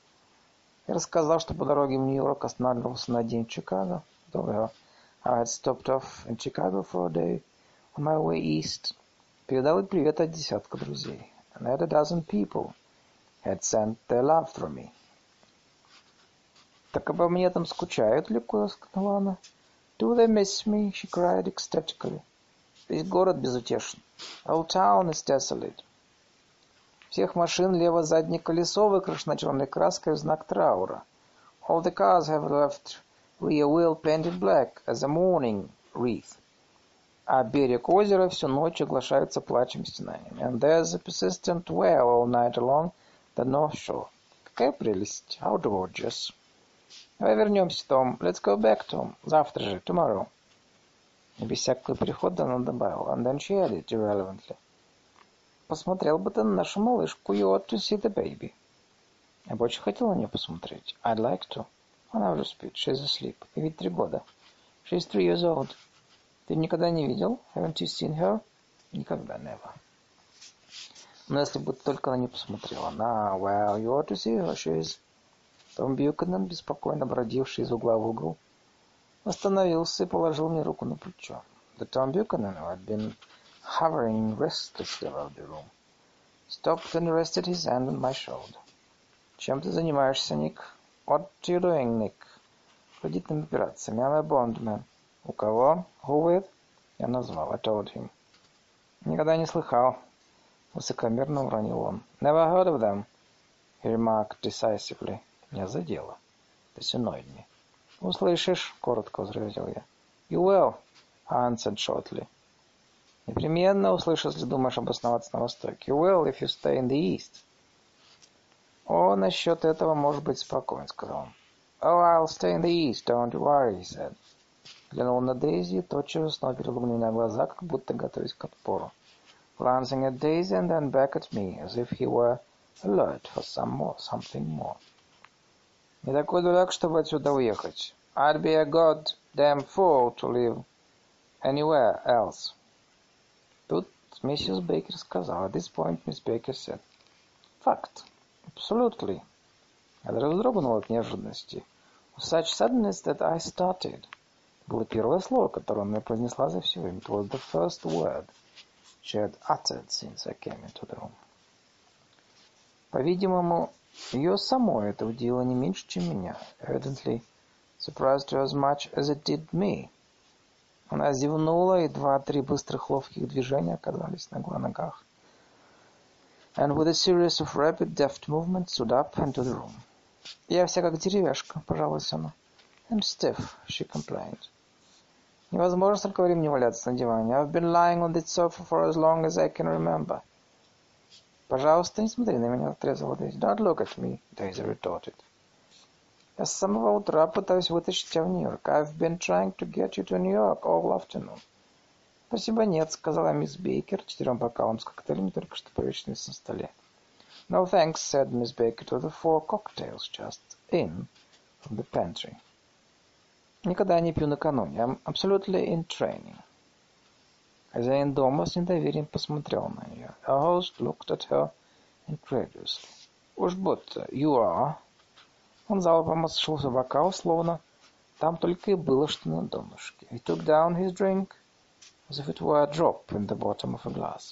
Я рассказал, что по дороге в Нью-Йорк останавливался на день в Чикаго. Though I had stopped off in Chicago for a day on my way east. Передал привет от десятка друзей. And had a dozen people had sent their love through me. Так обо мне там скучают, легко сказала она. Do they miss me? She cried ecstatically. Весь город безутешен. The whole town is desolate. Всех машин лево заднее колесо выкрашено черной краской в знак траура. All the cars have left rear wheel painted black as a mourning wreath. А берег озера всю ночь оглашается плачем стенаниями. And there's a persistent wail all night along the north shore. Какая прелесть! How gorgeous! Давай вернемся, Том. Let's go back, Tom. Завтра же, tomorrow. И без всякого перехода она добавила. And then she added irrelevantly. Посмотрел бы ты на нашу малышку. You ought to see the baby. Я бы очень хотел на нее посмотреть. I'd like to. Она уже спит. She's asleep. И ведь три года. She's three years old. Ты никогда не видел? Haven't you seen her? Никогда, never. Но если бы только она не посмотрела. Now, well, you ought to see her. She's... Том Бьюкенен, беспокойно бродивший из угла в угол, остановился и положил мне руку на плечо. The Tom Buchanan, who had been hovering restlessly around the room, stopped and rested his hand on my shoulder. Чем ты занимаешься, Ник? What are you doing, Nick? Кредитными операциями. I'm a bondman. У кого? Who with? Я назвал. I told him. Никогда не слыхал. Высокомерно уронил он. Never heard of them, he remarked decisively. Меня задело. This annoyed me. Услышишь, коротко возразил я. You will, I answered shortly. Непременно услышишь, если думаешь обосноваться на Востоке. You will, if you stay in the East. О, насчет этого может быть спокоен, сказал он. Oh, I'll stay in the East, don't you worry, he said. Глянул на Дейзи и тотчас снова перевел на меня глаза, как будто готовясь к отпору. Glancing at Daisy and then back at me, as if he were alert for some more, something more. Не такой дурак, чтобы отсюда уехать. I'd be a goddamn fool to live anywhere else. Тут миссис Бейкер сказала. At this point, Miss Baker said. Fact. Absolutely. Я даже вздрогнул от неожиданности. With such suddenness that I started. Было первое слово, которое она произнесла за все время. It was the first word she had uttered since I came into the room. По-видимому, ее самой это удивило не меньше, чем меня. Evidently surprised her as much as it did me. Она зевнула, и два-три быстрых ловких движения оказались на ногах. And with a series of rapid deft movements stood up into the room. Я вся как деревяшка, пожаловалась она. And stiff, she complained. Невозможно столько времени валяться на диване. I've been lying on this sofa for as long as I can remember. Пожалуйста, не смотри на меня, отрезала Дейзи. Don't look at me, Daisy retorted. Я с самого утра пытаюсь вытащить тебя в Нью-Йорк. I've been trying to get you to New York all afternoon. Спасибо, нет, сказала мисс Бейкер четырем бокалам с коктейлями, только что повешенными на столе. No thanks, said Miss Baker to the four cocktails just in from the pantry. Никогда не пью накануне. I'm absolutely in training. Хозяин дома с недоверием посмотрел на нее. Her host looked at her incredulously. Уж будто, you are. Он залпом осушился бокал, словно там только и было, что на донышке. He took down his drink as if it were a drop in the bottom of a glass.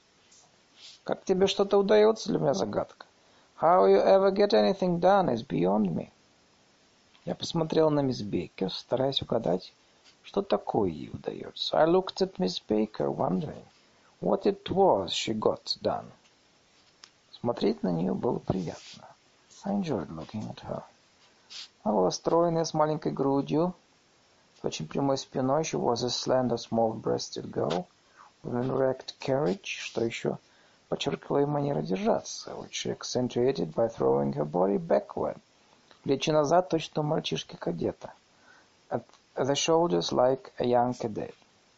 Как тебе что-то удается, для меня загадка. How you ever get anything done is beyond me. Я посмотрел на мисс Бейкер, стараясь угадать, что такое ей удается. I looked at Miss Baker, wondering what it was she got done. Смотреть на нее было приятно. I enjoyed looking at her. Она была стройная, с маленькой грудью, с очень прямой спиной. She was a slender, small-breasted girl with an erect carriage, что еще подчеркивало ее манеру держаться, which she accentuated by throwing her body backward. Плечи назад, точно у мальчишки-кадета. At the shoulders like a young cadet.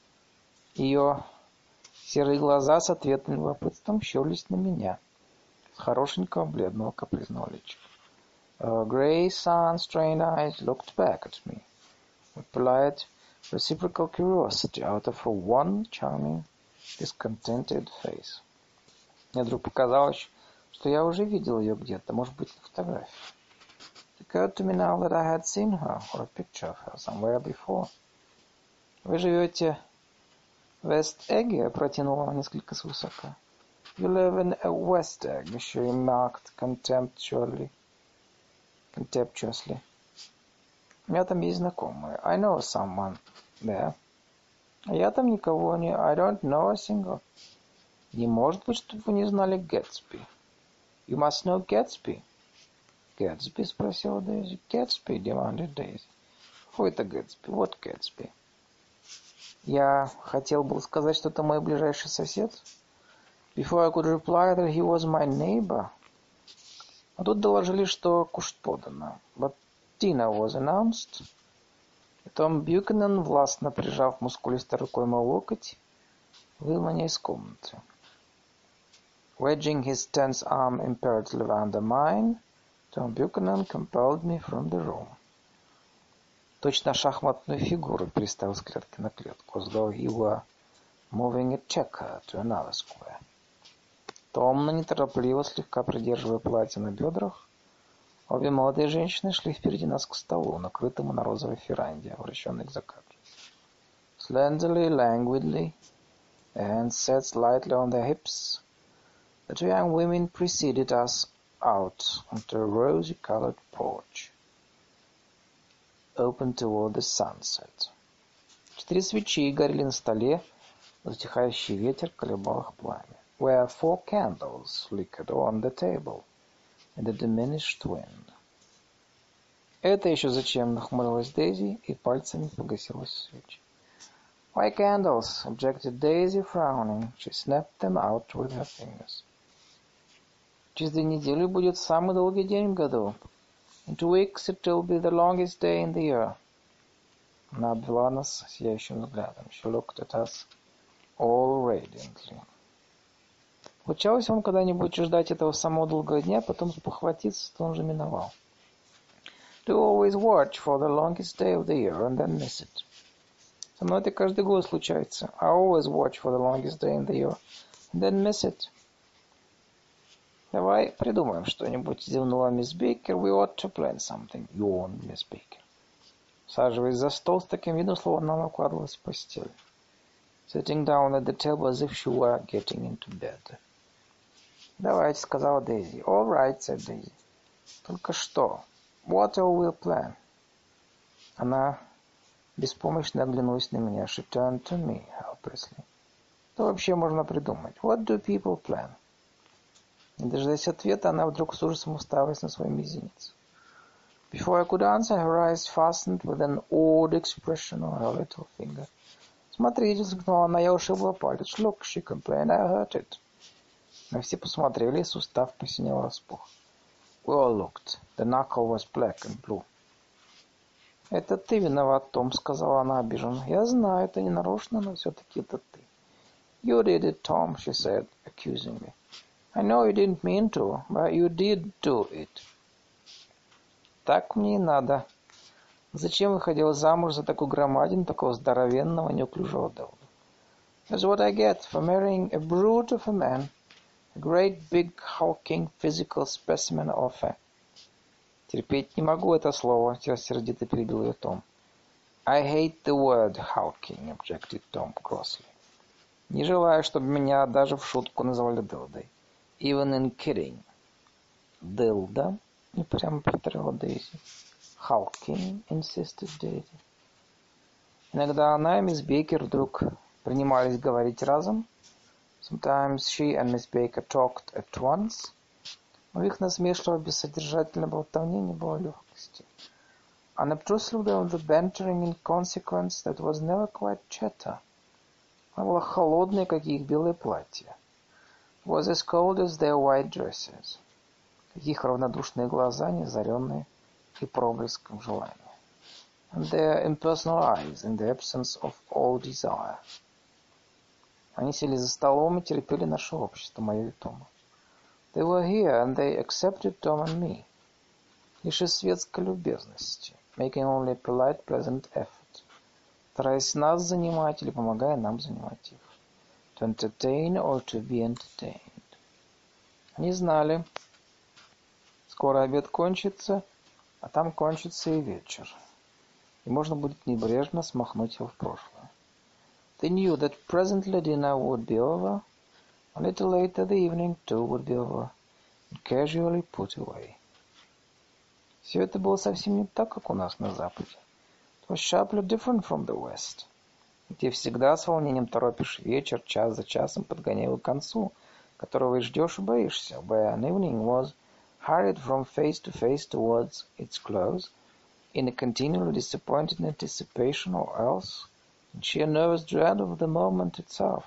Ее серые глаза с ответным любопытством щурились на меня, с хорошенького бледного капризного личика. Her grey, sun-strained eyes looked back at me with polite, reciprocal curiosity out of her one charming, discontented face. Мне вдруг показалось, что я уже видел ее где-то, может быть, на фотографии. It occurred to me now that I had seen her, or a picture of her, somewhere before. Вы живете в Вест-Эгге, протянула она несколько свысока. You live in a West Egg, she remarked contemptuously. contemptuously. У меня там есть знакомые. I know someone there. А я там никого не... I don't know a single. Не может быть, чтобы вы не знали Гэтсби. You must know Gatsby. Гэтсби, спросила Дейзи. Gatsby, demanded Daisy. Who это Гэтсби? What Gatsby? Я хотел был сказать, что это мой ближайший сосед. Before I could reply that he was my neighbor. А тут доложили, что кушать подано. But dinner was announced. Том Бьюкенен, властно прижав мускулистой рукой мой локоть, вывел меня из комнаты. Wedging his tense arm imperatively under mine, Tom Buchanan compelled me from the room. Точно шахматную фигуру переставил с клетки на клетку, as though he were moving a checker to another square. Томно, неторопливо, слегка придерживая платье на бедрах, обе молодые женщины шли впереди нас к столу, накрытому на розовой веранде, обращенной к закату. Slenderly, languidly, and set slightly on their hips, the two young women preceded us out onto a rosy-colored porch, open toward the sunset. Четыре свечи горели на столе, затихающий ветер колебал их пламя. Where four candles flickered on the table in the diminished wind. Это еще зачем? Нахмурилась Дейзи и пальцами погасила свечи. Why candles? Objected Daisy, frowning. She snapped them out with her fingers. Через две недели будет самый долгий день в году. In two weeks it will be the longest day in the year. Она обвела нас сияющим взглядом. She looked at us all radiantly. Случалось вам когда-нибудь ждать этого самого долгого дня, потом спохватиться, что он же миновал? Do you always watch for the longest day of the year and then miss it? Со мной это каждый год случается. I always watch for the longest day in the year and then miss it. Давай придумаем что-нибудь, зевнула мисс Бейкер. We ought to plan something, yawned Miss Baker. Саживаясь за стол с таким видом, словно она укладывалась в постель. Sitting down at the table as if she were getting into bed. Давайте, сказала Дейзи. All right, said Daisy. Только что? What will we plan? Она беспомощно оглянулась на меня. She turned to me helplessly. Что вообще можно придумать? What do people plan? Не дожидаясь ответа, она вдруг с ужасом уставилась на свой мизинец. Before I could answer, her eyes fastened with an odd expression on her little finger. Смотрите, вскрикнула она, я ушибла палец. Look, she complained, I hurt it. Мы все посмотрели, и сустав посинел распух. We all looked. The knuckle was black and blue. Это ты виноват, Том, сказала она обиженно. Я знаю, это не нарочно, но все-таки это ты. You did it, Tom, she said, accusingly. I know you didn't mean to, but you did do it. Так мне и надо. Зачем выходила замуж за такую громадину, такого здоровенного, неуклюжего Делда? That's what I get for marrying a brute of a man, a great big hulking physical specimen of a... Терпеть не могу это слово, сердито перебил ее Том. I hate the word hulking, objected Tom crossly. Не желаю, чтобы меня даже в шутку называли Делдой. Even in kidding. Делда? И прямо повторила Дейзи. Hulking, insisted Дейзи. Иногда она и мисс Бейкер вдруг принимались говорить разом. Sometimes she and Miss Baker talked at once. Но в их насмешливо-бессодержательной болтовне не было легкости. Unobtrusively of the bantering inconsequence that was never quite chatter. Она была холодной, как и их белые платья. Was as cold as their white dresses. Их равнодушные глаза, неозаренные и проблеском желания. And their impersonal eyes in the absence of all desire. Они сели за столом и терпели наше общество, мое и Тома. They were here, and they accepted Tom and me. Лишь из светской любезности, making only a polite, pleasant effort, стараясь нас занимать или помогая нам занимать их. To entertain or to be entertained. Они знали, скоро обед кончится, а там кончится и вечер, и можно будет небрежно смахнуть его в прошлое. They knew that presently dinner would be over, a little later the evening too would be over, and casually put away. Все это было совсем не так, как у нас на Западе. It was sharply different from the West, где всегда с волнением торопишь вечер, час за часом подгоняя его к концу, которого и ждешь и боишься, where an evening was hurried from face to face towards its close, in a continually disappointed anticipation or else in sheer nervous dread of the moment itself.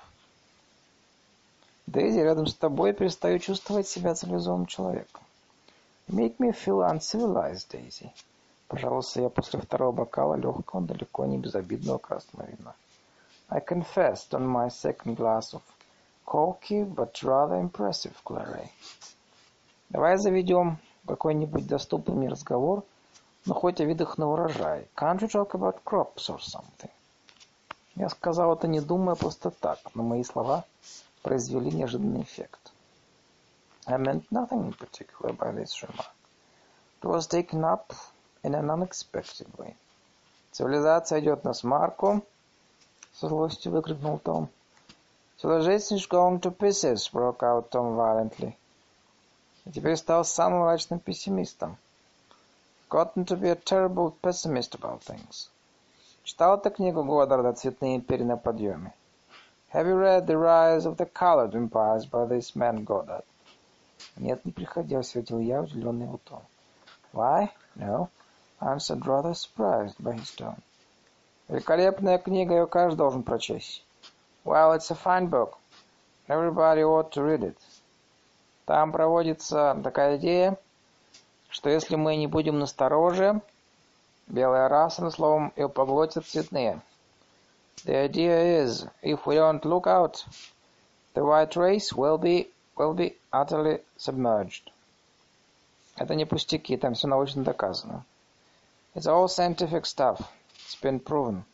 Дейзи, рядом с тобой перестаю чувствовать себя цивилизованным человеком. You make me feel uncivilized, Daisy. Пожалуйста, я после второго бокала легкого, далеко не безобидного красного вина. I confessed on my second glass of corky, but rather impressive claret. Давай заведем какой-нибудь доступный мне разговор, но хоть о видах на урожай. Can't you talk about crops or something? Я сказал это не думая, просто так, но мои слова произвели неожиданный эффект. I meant nothing in particular by this remark. It was taken up in an unexpected way. Цивилизация идет на смарку, со злостью выкрикнул Том. Civilization is going to pieces, broke out Tom violently. И теперь стал самым мрачным пессимистом. Gotten to be a terrible pessimist about things. Читал ты книгу Годдарда «Цветные империи на подъеме»? Have you read The Rise of the Colored Empires by this man Goddard? Нет, не приходилось, ответил я, удивленный его тоном. Why? No. I answered, rather surprised by his tone. Великолепная книга, ее каждый должен прочесть. Well, it's a fine book. Everybody ought to read it. Там проводится такая идея, что если мы не будем настороже, белая раса, словом, ее поглотят цветные. The idea is, if we don't look out, the white race will be, will be utterly submerged. Это не пустяки, там все научно доказано. It's all scientific stuff. It's been proven.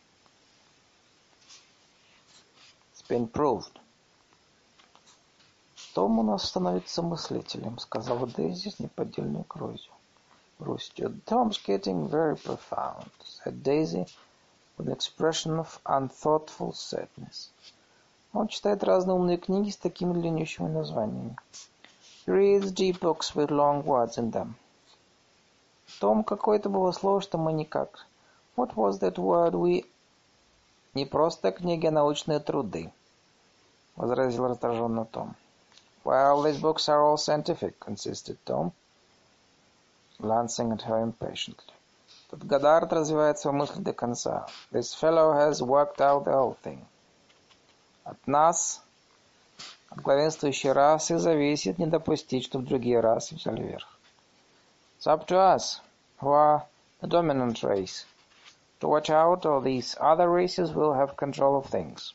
It's been proved. Том у нас становится мыслителем, сказала Дейзи с неподдельной грустью. Tom's getting very profound, said Daisy with an expression of unthoughtful sadness. Он читает разные умные книги с такими длиннющими названиями. He reads deep books with long words in them. Том, какое-то было слово, что мы никак. What was that word we... Не просто книги, а научные труды, возразил раздраженно Том. Well, these books are all scientific, insisted Tom, glancing at her impatiently. Этот Годдард развивает свою мысль до конца. This fellow has worked out the whole thing. От нас, от главенствующей расы, зависит не допустить, чтобы другие расы взяли верх. It's up to us, who are the dominant race, to watch out, or these other races will have control of things.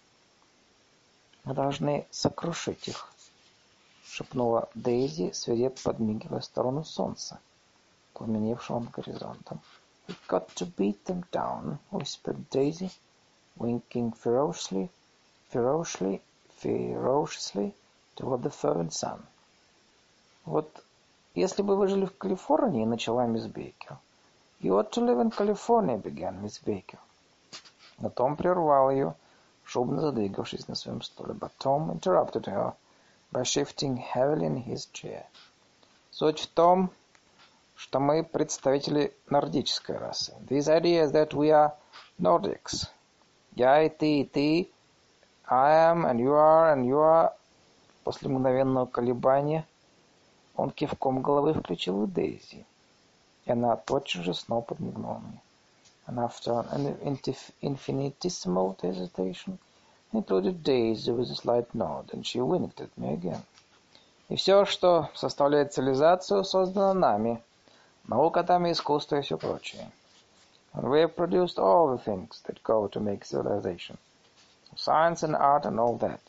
Мы должны сокрушить их, шепнула Дейзи, свирепо подмигивая в сторону солнца, пламеневшего над горизонтом. We've got to beat them down, whispered Daisy, winking ferociously, ferociously, ferociously toward the fervent sun. Вот если бы вы жили в Калифорнии, начала мисс Бейкер. You ought to live in California, began Miss Baker. Но Том прервал ее, шумно задвигавшись на своем стуле. But Tom interrupted her by shifting heavily in his chair. Суть в том, что мы представители нордической расы. This idea is that we are Nordics. Я и ты, и ты. I am, and you are, and you are. После мгновенного колебания он кивком головы включил и Дейзи. И она тотчас же снова подмигнула мне. And after an infinitesimal hesitation, included Daisy with a slight nod, and she winked at me again. И все, что составляет цивилизацию, создано нами. Наука там и искусство и все прочее. And we have produced all the things that go to make civilization. Science and art and all that.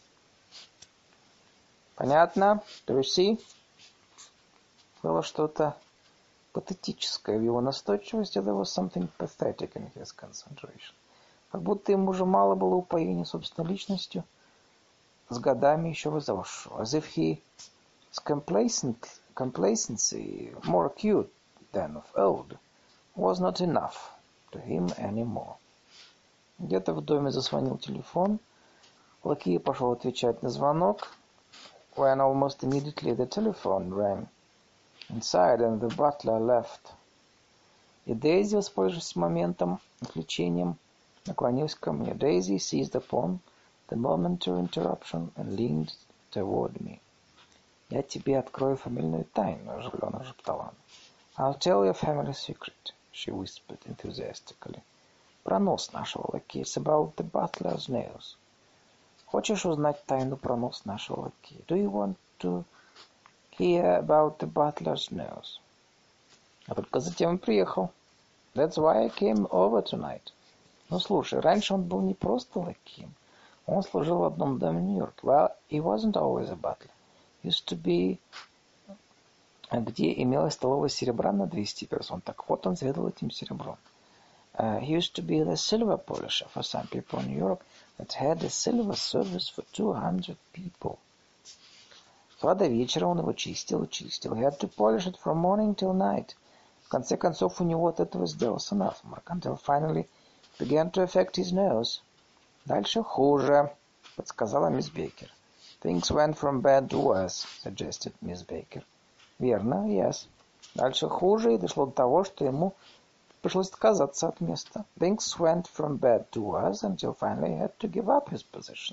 Понятно? Do you see? Было что-то патетическое в его настойчивости. There was something pathetic in his concentration. Как будто ему уже мало было упоения собственной личностью, с годами еще возросшего. As if he his complacent, complacency, more acute than of old, was not enough to him anymore. Где-то в доме зазвонил телефон. Лакей пошел отвечать на звонок. When almost immediately the telephone rang inside and the butler left. И Дейзи, воспользовавшись моментом, отвлечением, наклонилась ко мне. Daisy seized upon the momentary interruption and leaned toward me. Я тебе открою фамильную тайну, оживленно шептала она. I'll tell you a family secret, she whispered enthusiastically. Про нос нашего лакея. It's about the butler's nose. Хочешь узнать тайну про нос нашего лакея? Do you want to hear about the butler's nose? А только затем он приехал. That's why I came over tonight. Ну, слушай, раньше он был не просто лакеем. Он служил в одном доме в Нью-Йорке. Well, he wasn't always a butler. He used to be... где имелась столовая серебра на двести персон. Так вот, он заведовал этим серебром. Uh, he used to be the silver polisher for some people in New York that had a silver service for two hundred people. С утра до вечера он его чистил и чистил. He had to polish it from morning till night. В конце концов, у него от этого сделался насморк. Until finally began to affect his nose. Дальше хуже, подсказала мисс Бейкер. Things went from bad to worse, suggested Miss Baker. Верно, yes. Дальше хуже, и дошло до того, что ему пришлось отказаться от места. Things went from bad to worse until finally he had to give up his position.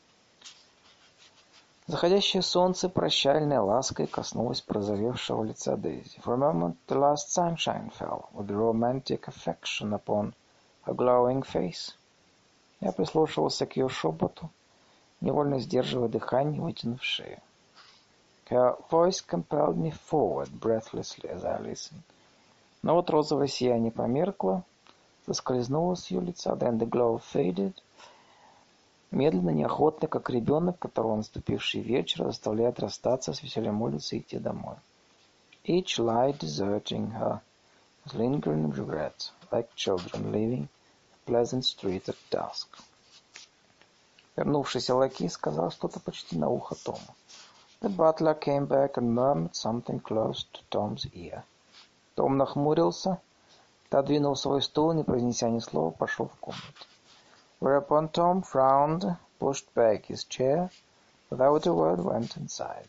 Заходящее солнце прощальной лаской коснулось прозовевшего лица Дейзи. For a moment the last sunshine fell with romantic affection upon her glowing face. Я прислушивался к ее шепоту, невольно сдерживая дыхание, вытянув шею. Her voice compelled me forward breathlessly as I listened. Но вот розовое сияние померкло, соскользнуло с ее лица, then the glow faded. Медленно, неохотно, как ребенок, которого наступивший вечер заставляет расстаться с веселым улицей и идти домой. Each light deserting her with lingering regret, like children leaving a pleasant street at dusk. Вернувшийся лакей сказал что-то почти на ухо Тому. The butler came back and murmured something close to Tom's ear. Том нахмурился, отодвинул свой стул, не произнеся ни слова, пошел в комнату. Whereupon Tom frowned, pushed back his chair, without a word went inside.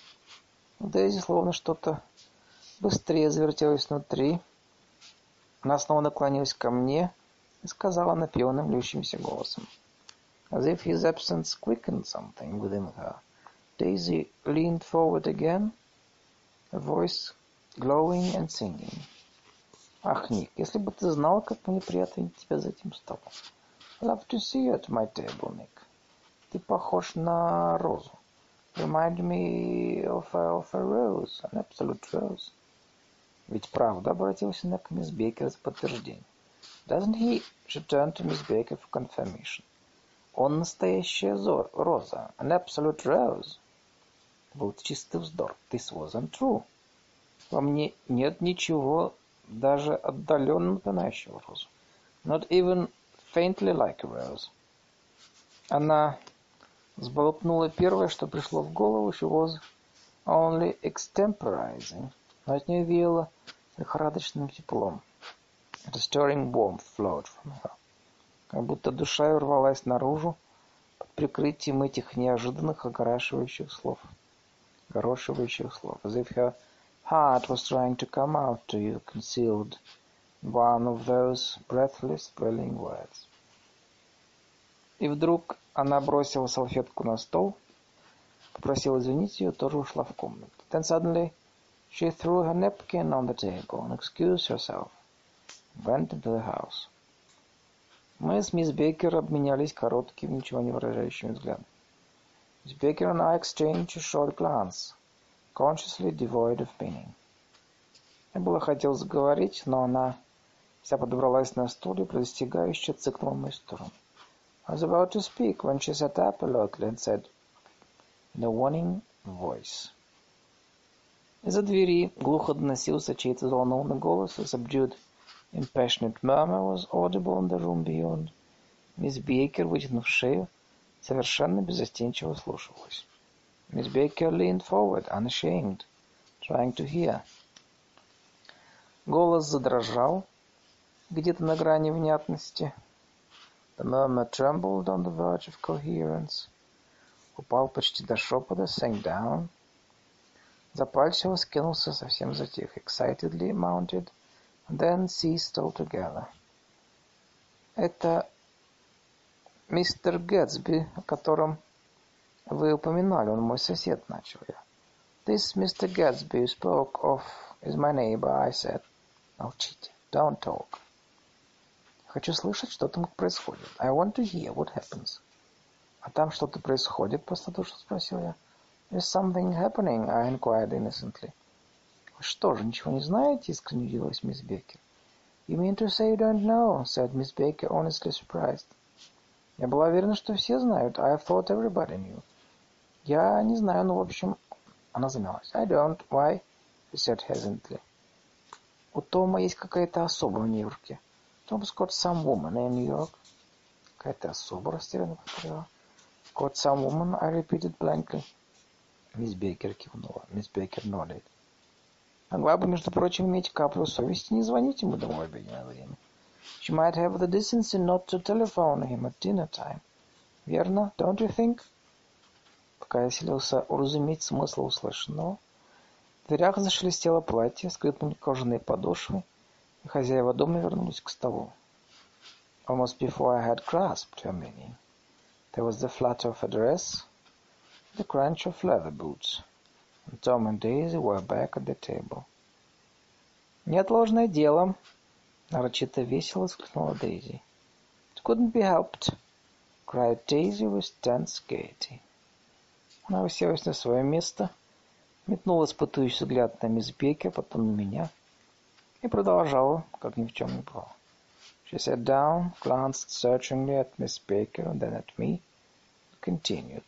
Дейзи словно что-то быстрее завертелось внутри. Она снова наклонилась ко мне и сказала напевным, льющимся голосом. As if his absence quickened something within her, Daisy leaned forward again, her voice glowing and singing. Ах, Ник, если бы ты знал, как мне приятно видеть тебя за этим столом. Love to see you at my table, Nick. Ты похож на розу. Remind me of a, of a rose, an absolute rose. Ведь правда, обратился она к мисс Бейкер за подтверждение. Doesn't he? She turned to Miss Baker for confirmation. Он настоящая зор, роза, an absolute rose. Это был чистый вздор. This wasn't true. Во мне нет ничего даже отдаленно напоминающего розу. Not even faintly like a rose. Она сболтнула первое, что пришло в голову. She was only extemporizing. Но от нее веяло лихорадочным теплом. A stirring warmth flowed from her. Как будто душа ее рвалась наружу под прикрытием этих неожиданных огорошивающих слов. Огорошивающих слов. As if her heart was trying to come out to you, concealed in one of those breathless, thrilling words. И вдруг она бросила салфетку на стол, попросила извинить ее, тоже ушла в комнату. Then suddenly she threw her napkin on the table and excused herself, and went into the house. Мы с мисс Бейкер обменялись коротким, ничего не выражающим взглядом. Miss Baker and I exchanged a short glance, consciously devoid of meaning. Я было хотел заговорить, но она вся подобралась на стуле, предостерегающе цыкнула в мою сторону. I was about to speak when she sat up alertly and said in a warning voice. Из-за двери глухо доносился чей-то взволнованный голос, a subdued, impassionate murmur was audible in the room beyond. Мисс Бейкер, вытянув шею, совершенно беззастенчиво слушалась. Miss Baker leaned forward, unashamed, trying to hear. Голос задрожал где-то на грани внятности. The murmur trembled on the verge of coherence. Упал почти до шепота, sank down. Запальчиво скинулся, совсем затих. Excitedly mounted, and then ceased altogether. Это мистер Гэтсби, о котором вы упоминали, он мой сосед, начал я. This Mister Gatsby you spoke of is my neighbor, I said. Молчите, don't talk. Хочу слышать, что там происходит. I want to hear what happens. А там что-то происходит, простодушно спросил я. Is something happening? I inquired innocently. Вы что же, ничего не знаете? Искренне удивилась мисс Беккер. You mean to say you don't know? Said Miss Baker, honestly surprised. Я была уверена, что все знают. I thought everybody knew. Я не знаю, но в общем... Она замялась. I don't. Why? She said hesitantly. У Тома есть какая-то особа в Нью-Йорке. Tom's got some woman in New York. Какая-то особа, растерянно повторила. Got some woman, I repeated blankly. Мисс Бейкер кивнула. Мисс Бейкер nodded. Могла бы, между прочим, иметь каплю совести, не звонить ему домой в обеденное время. She might have the decency not to telephone him at dinner time. Верно? Don't you think? Пока я селился уразуметь смысл услышанного, в дверях зашелестело платье, скрипнули кожаные подошвы, и хозяева дома вернулись к столу. Almost before I had grasped her meaning, there was the flutter of a dress, the crunch of leather boots, and Tom and Daisy were back at the table. «Неотложное дело!» — нарочито весело вскрикнула Дейзи. «It couldn't be helped!» — cried Daisy with tense gaiety. Она уселась на свое место, метнула испытующий взгляд на мисс Бейкер, потом на меня, и продолжала, как ни в чем не бывало. She sat down, glanced searchingly at Miss Baker and then at me, and continued.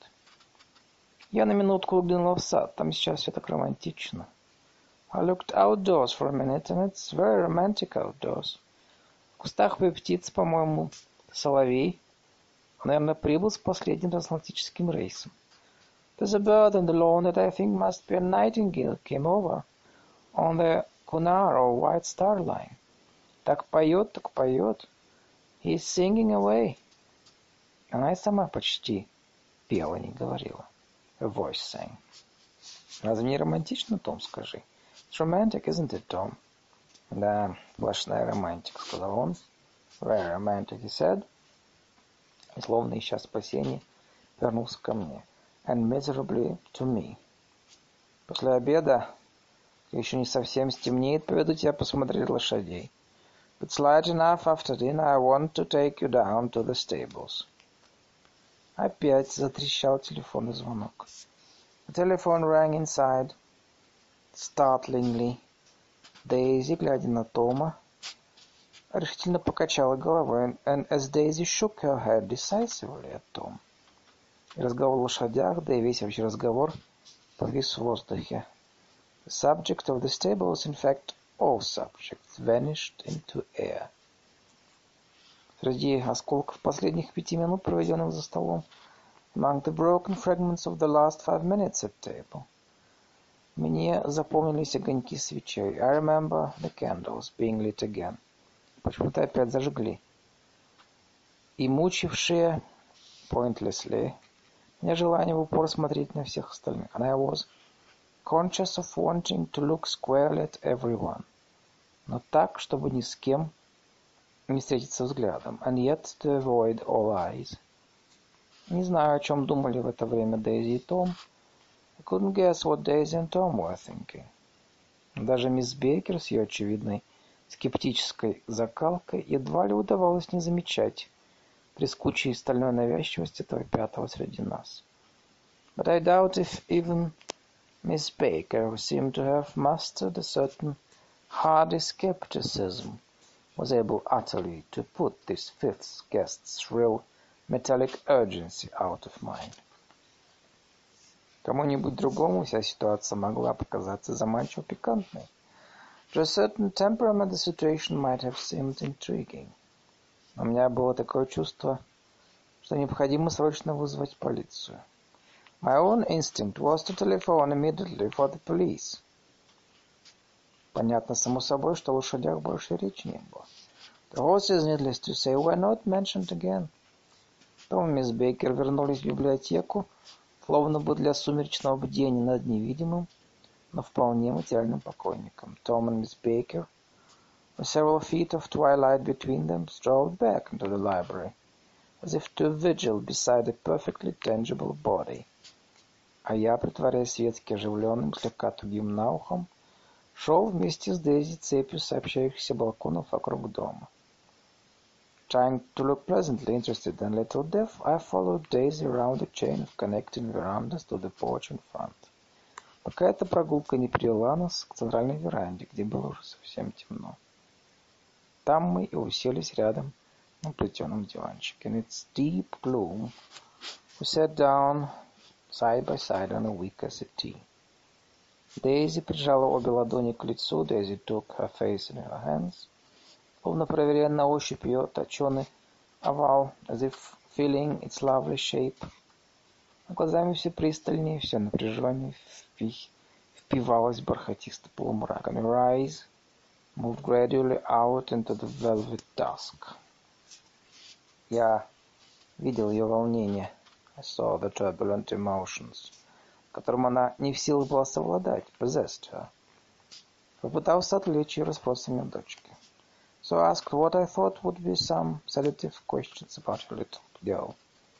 Я на минутку выглянула в сад, там сейчас все так романтично. I looked outdoors for a minute, and it's very romantic outdoors. В кустах птиц, по-моему, соловей. Наверное, прибыл с последним трансатлантическим рейсом. There's a bird on the lawn that I think must be a nightingale came over on the Cunard or White Star Line. Так поет, так поет. He's singing away. Она и сама почти пела, не говорила. Her voice sang. Разве не романтично, Том, скажи? It's romantic, isn't it, Tom? Да, сплошная романтика, сказал он. Very romantic, he said. И словно ища спасения, вернулся ко мне. And miserably to me. После обеда, еще не совсем стемнеет, поведу тебя посмотреть лошадей. It's light enough after dinner. I want to take you down to the stables. Опять затрещал телефонный звонок. The telephone rang inside. Startlingly. Дейзи, глядя на Тома, решительно покачала головой, and as Daisy shook her head decisively at Tom. И разговор о лошадях, да и весь вообще разговор повис в воздухе. The subject of the stables, in fact, all subjects, vanished into air. Среди осколков последних пяти минут, проведенных за столом, among the broken fragments of the last five minutes at table, мне запомнились огоньки свечей. I remember the candles being lit again. Почему-то опять зажгли. И мучившие, pointlessly, мне желание в упор смотреть на всех остальных. And I was conscious of wanting to look squarely at everyone. Но так, чтобы ни с кем не встретиться взглядом. And yet to avoid all eyes. Не знаю, о чем думали в это время Дейзи и Том. I couldn't guess what Daisy and Tom were thinking. Даже мисс Бейкер с ее очевидной скептической закалкой едва ли удавалось не замечать трескучей стальной навязчивости этого пятого среди нас. But I doubt if even Miss Baker, who seemed to have mastered a certain hardy skepticism, was able utterly to put this fifth guest's real metallic urgency out of mind. Кому-нибудь другому вся ситуация могла показаться заманчиво пикантной. To a certain temperament the situation might have seemed intriguing. У меня было такое чувство, что необходимо срочно вызвать полицию. My own instinct was to telephone immediately for the police. Понятно, само собой, что о лошадях больше речи не было. The horses, needless to say, were not mentioned again. Том и мисс Бейкер вернулись в библиотеку, словно бы для сумеречного бдения над невидимым, но вполне материальным покойником. Tom and Miss Baker, with several feet of twilight between them, strolled back into the library, as if to vigil beside a perfectly tangible body. А я, притворяясь светски оживленным, слегка тугим на ухом, шел вместе с Дейзи цепью сообщающихся балконов вокруг дома. Trying to look pleasantly interested and little deaf, I followed Daisy around a chain of connecting verandas to the porch in front. Пока эта прогулка не привела нас к центральной веранде, где было уже совсем темно. Там мы и уселись рядом на плетеном диванчике. In its deep gloom, we sat down side by side on a wicker settee. Дейзи прижала обе ладони к лицу. Daisy took her face in her hands, словно проверяя на ощупь ее точеный овал, as if feeling its lovely shape. А глазами все пристальнее, все напряженнее впи- впивалось в бархатистый полумрак. And her eyes moved gradually out into the velvet dusk. Я видел ее волнение. I saw the turbulent emotions, которым она не в силах была совладать, possessed her. Попытался отвлечь ее расспросами о дочке. So I asked what I thought would be some sedative questions about her little girl.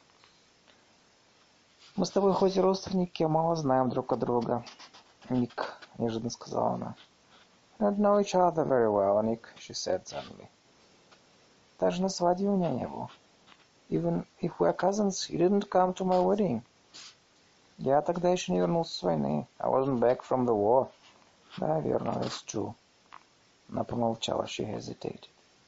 Мы с тобой хоть и родственники, а мало знаем друг от друга, Ник, неожиданно сказала она. We don't know each other very well, Nick, she said suddenly. Даже на свадьбе у меня не был. Even if we're cousins, you didn't come to my wedding. Я тогда еще не вернулся с войны. I wasn't back from the war. Да, верно, that's true. Она помолчала, she hesitated.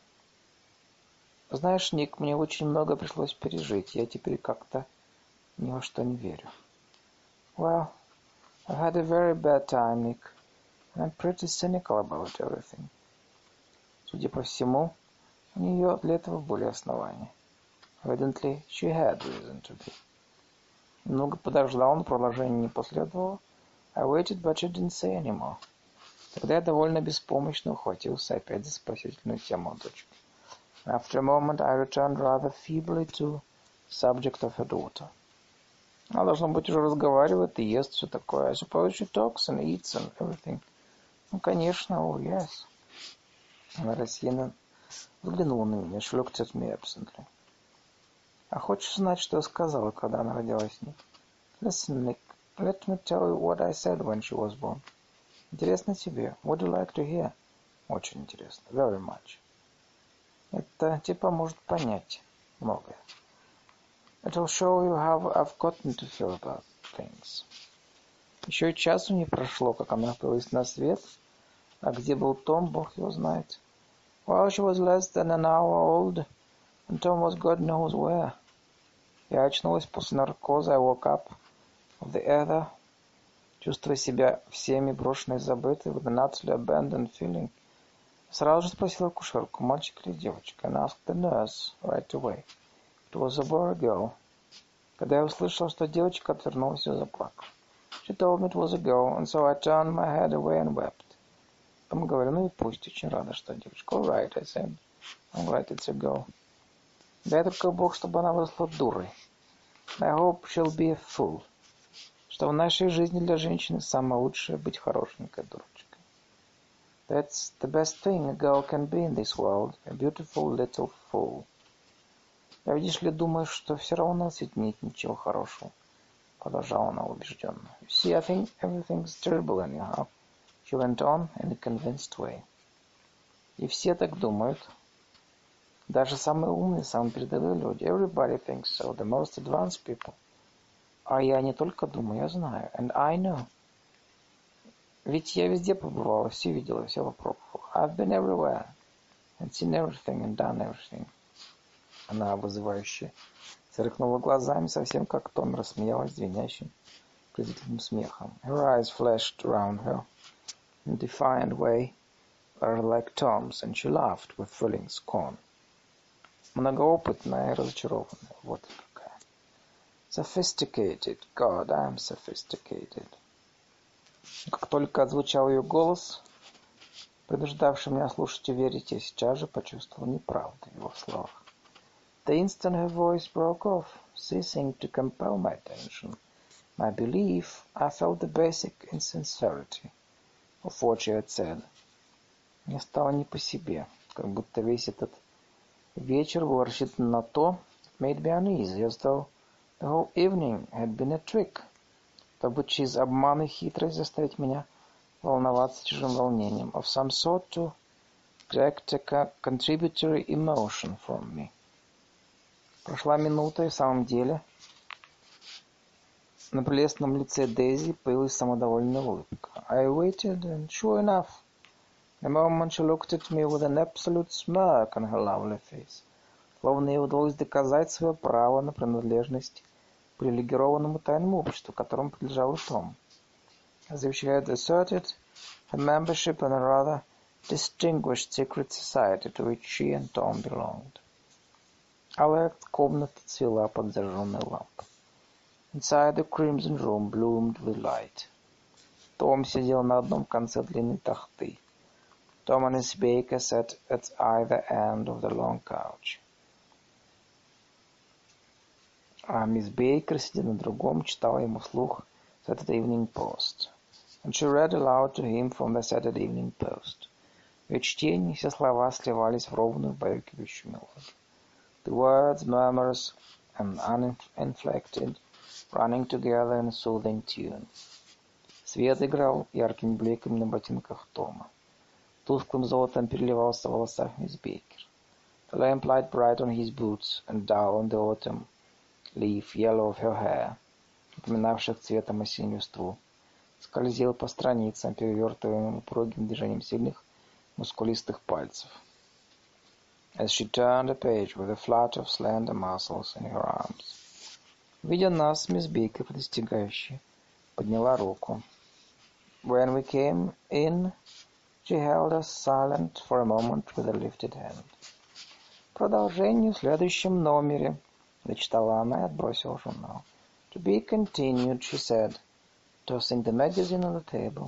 Знаешь, Ник, мне очень много пришлось пережить. Я теперь как-то ни во что не верю. Well, I've had a very bad time, Nick. And I'm pretty cynical about everything. Судя по всему, у нее для этого были основания. Evidently, she had reason to be. Немного подождал, но продолжение не последовало. I waited, but she didn't say anymore. Тогда я довольно беспомощно ухватился опять за спасительную тему о дочке. After a moment, I returned rather feebly to the subject of her daughter. Она, должно быть, уже разговаривает и ест все такое. I suppose she talks and eats and everything. Ну, конечно, oh, yes. Она рассеянно взглянула на меня. She looked at me absently. А хочешь знать, что я сказала, когда она родилась, Ник? Listen, Nick, let me tell you what I said when she was born. Интересно тебе? Would you like to hear? Очень интересно. Very much. Это тебе поможет понять многое. It'll show you how I've gotten to feel about things. Еще и часу не прошло, как она появилась на свет. А где был Том, Бог его знает. Well, she was less than an hour old, and Tom was God knows where. Я очнулась после наркоза. I woke up of the ether, чувствуя себя всеми брошенной и забытой, with an utterly abandoned feeling. Сразу же спросила акушерку, мальчик или девочка, and asked the nurse right away. It was a boy or a girl. Когда я услышала, что девочка, отвернулась и заплакала. She told me it was a girl, and so I turned my head away and wept. Потом говорю, ну и пусть, очень рада, что девочка. All right, I said. I'm glad it's a girl. Дай только Бог, чтобы она выросла дурой. I hope she'll be a fool. Что в нашей жизни для женщины самое лучшее быть хорошенькой дурочкой. That's the best thing a girl can be in this world, a beautiful little fool. Я, видишь ли, думаю, что все равно в свете нет ничего хорошего, продолжала она убежденно. You see, I think everything's terrible anyhow, she went on in a convinced way. И все так думают. Даже самые умные, самые передовые люди. Everybody thinks so, the most advanced people. А я не только думаю, я знаю. And I know. Ведь я везде побывала, все видела, все попробовала. I've been everywhere, and seen everything, and done everything. Она вызывающе сверкнула глазами, совсем как Том, рассмеялась звенящим, презрительным смехом. Her eyes flashed around her in a defiant way, rather like Tom's, and she laughed with thrilling scorn. Многоопытная и разочарованная. Вот какая. Sophisticated. God, I'm sophisticated. Как только отзвучал ее голос, принуждавший меня слушать и верить, я сейчас же почувствовал неправду в его словах. The instant her voice broke off, ceasing to compel my attention, my belief, I felt the basic insincerity of what she had said. Мне стало не по себе, как будто весь этот вечер был рассчитан на то, made me uneasy, as though the whole evening had been a trick, чтобы через обман и хитрость заставить меня волноваться чужим волнением, of some sort to extract a contributory emotion from me. Прошла минута, и в самом деле на прелестном лице Дейзи появилась самодовольная улыбка. I waited, and sure enough, The moment she looked at me with an absolute smirk on her lovely face, словно ей удалось доказать свое право на принадлежность к привилегированному тайному обществу, которому принадлежал и Том. As if she had asserted her membership in a rather distinguished secret society to which she and Tom belonged. Алая комната цвела под зажженной лампой. Inside the crimson room bloomed with light. Том сидел на одном конце длинной тахты. Tom and Miss Baker sat at either end of the long couch. А мисс Бейкер, сидя на другом, читала ему вслух Saturday Evening Post. And she read aloud to him from the Saturday Evening Post. В ее чтении все слова сливались в ровную, убаюкивающую мелодию. The words, murmurous and uninflected, running together in a soothing tune. Свет играл яркими бликами на ботинках Тома. Тусклым золотом переливался в волосах мисс Бейкер. The lamplight bright on his boots and dull on the autumn leaf yellow of her hair, напоминавших цветом осеннюю ствол, скользил по страницам, перевертываемым упругим движением сильных, мускулистых пальцев. As she turned a page with a flutter of slender muscles in her arms. Видя нас, мисс Бейкер, достигающая, подняла руку. When we came in, she held us silent for a moment with a lifted hand. Продолжение в следующем номере, зачитала она и отбросила журнал. To be continued, she said, tossing the magazine on the table.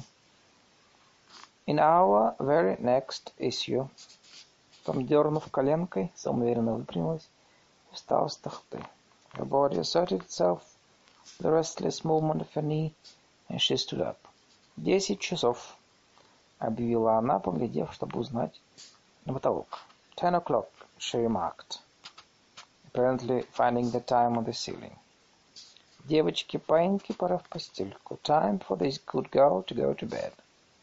In our very next issue. Том, дернув коленкой, самоуверенно выпрямилась и встала с тахты. Her body asserted itself, the restless movement of her knee, and she stood up. Десять часов, объявила она, поглядев, чтобы узнать на потолок. Ten o'clock, she remarked, apparently finding the time on the ceiling. Девочки, паиньки, пора в постельку. Time for this good girl to go to bed.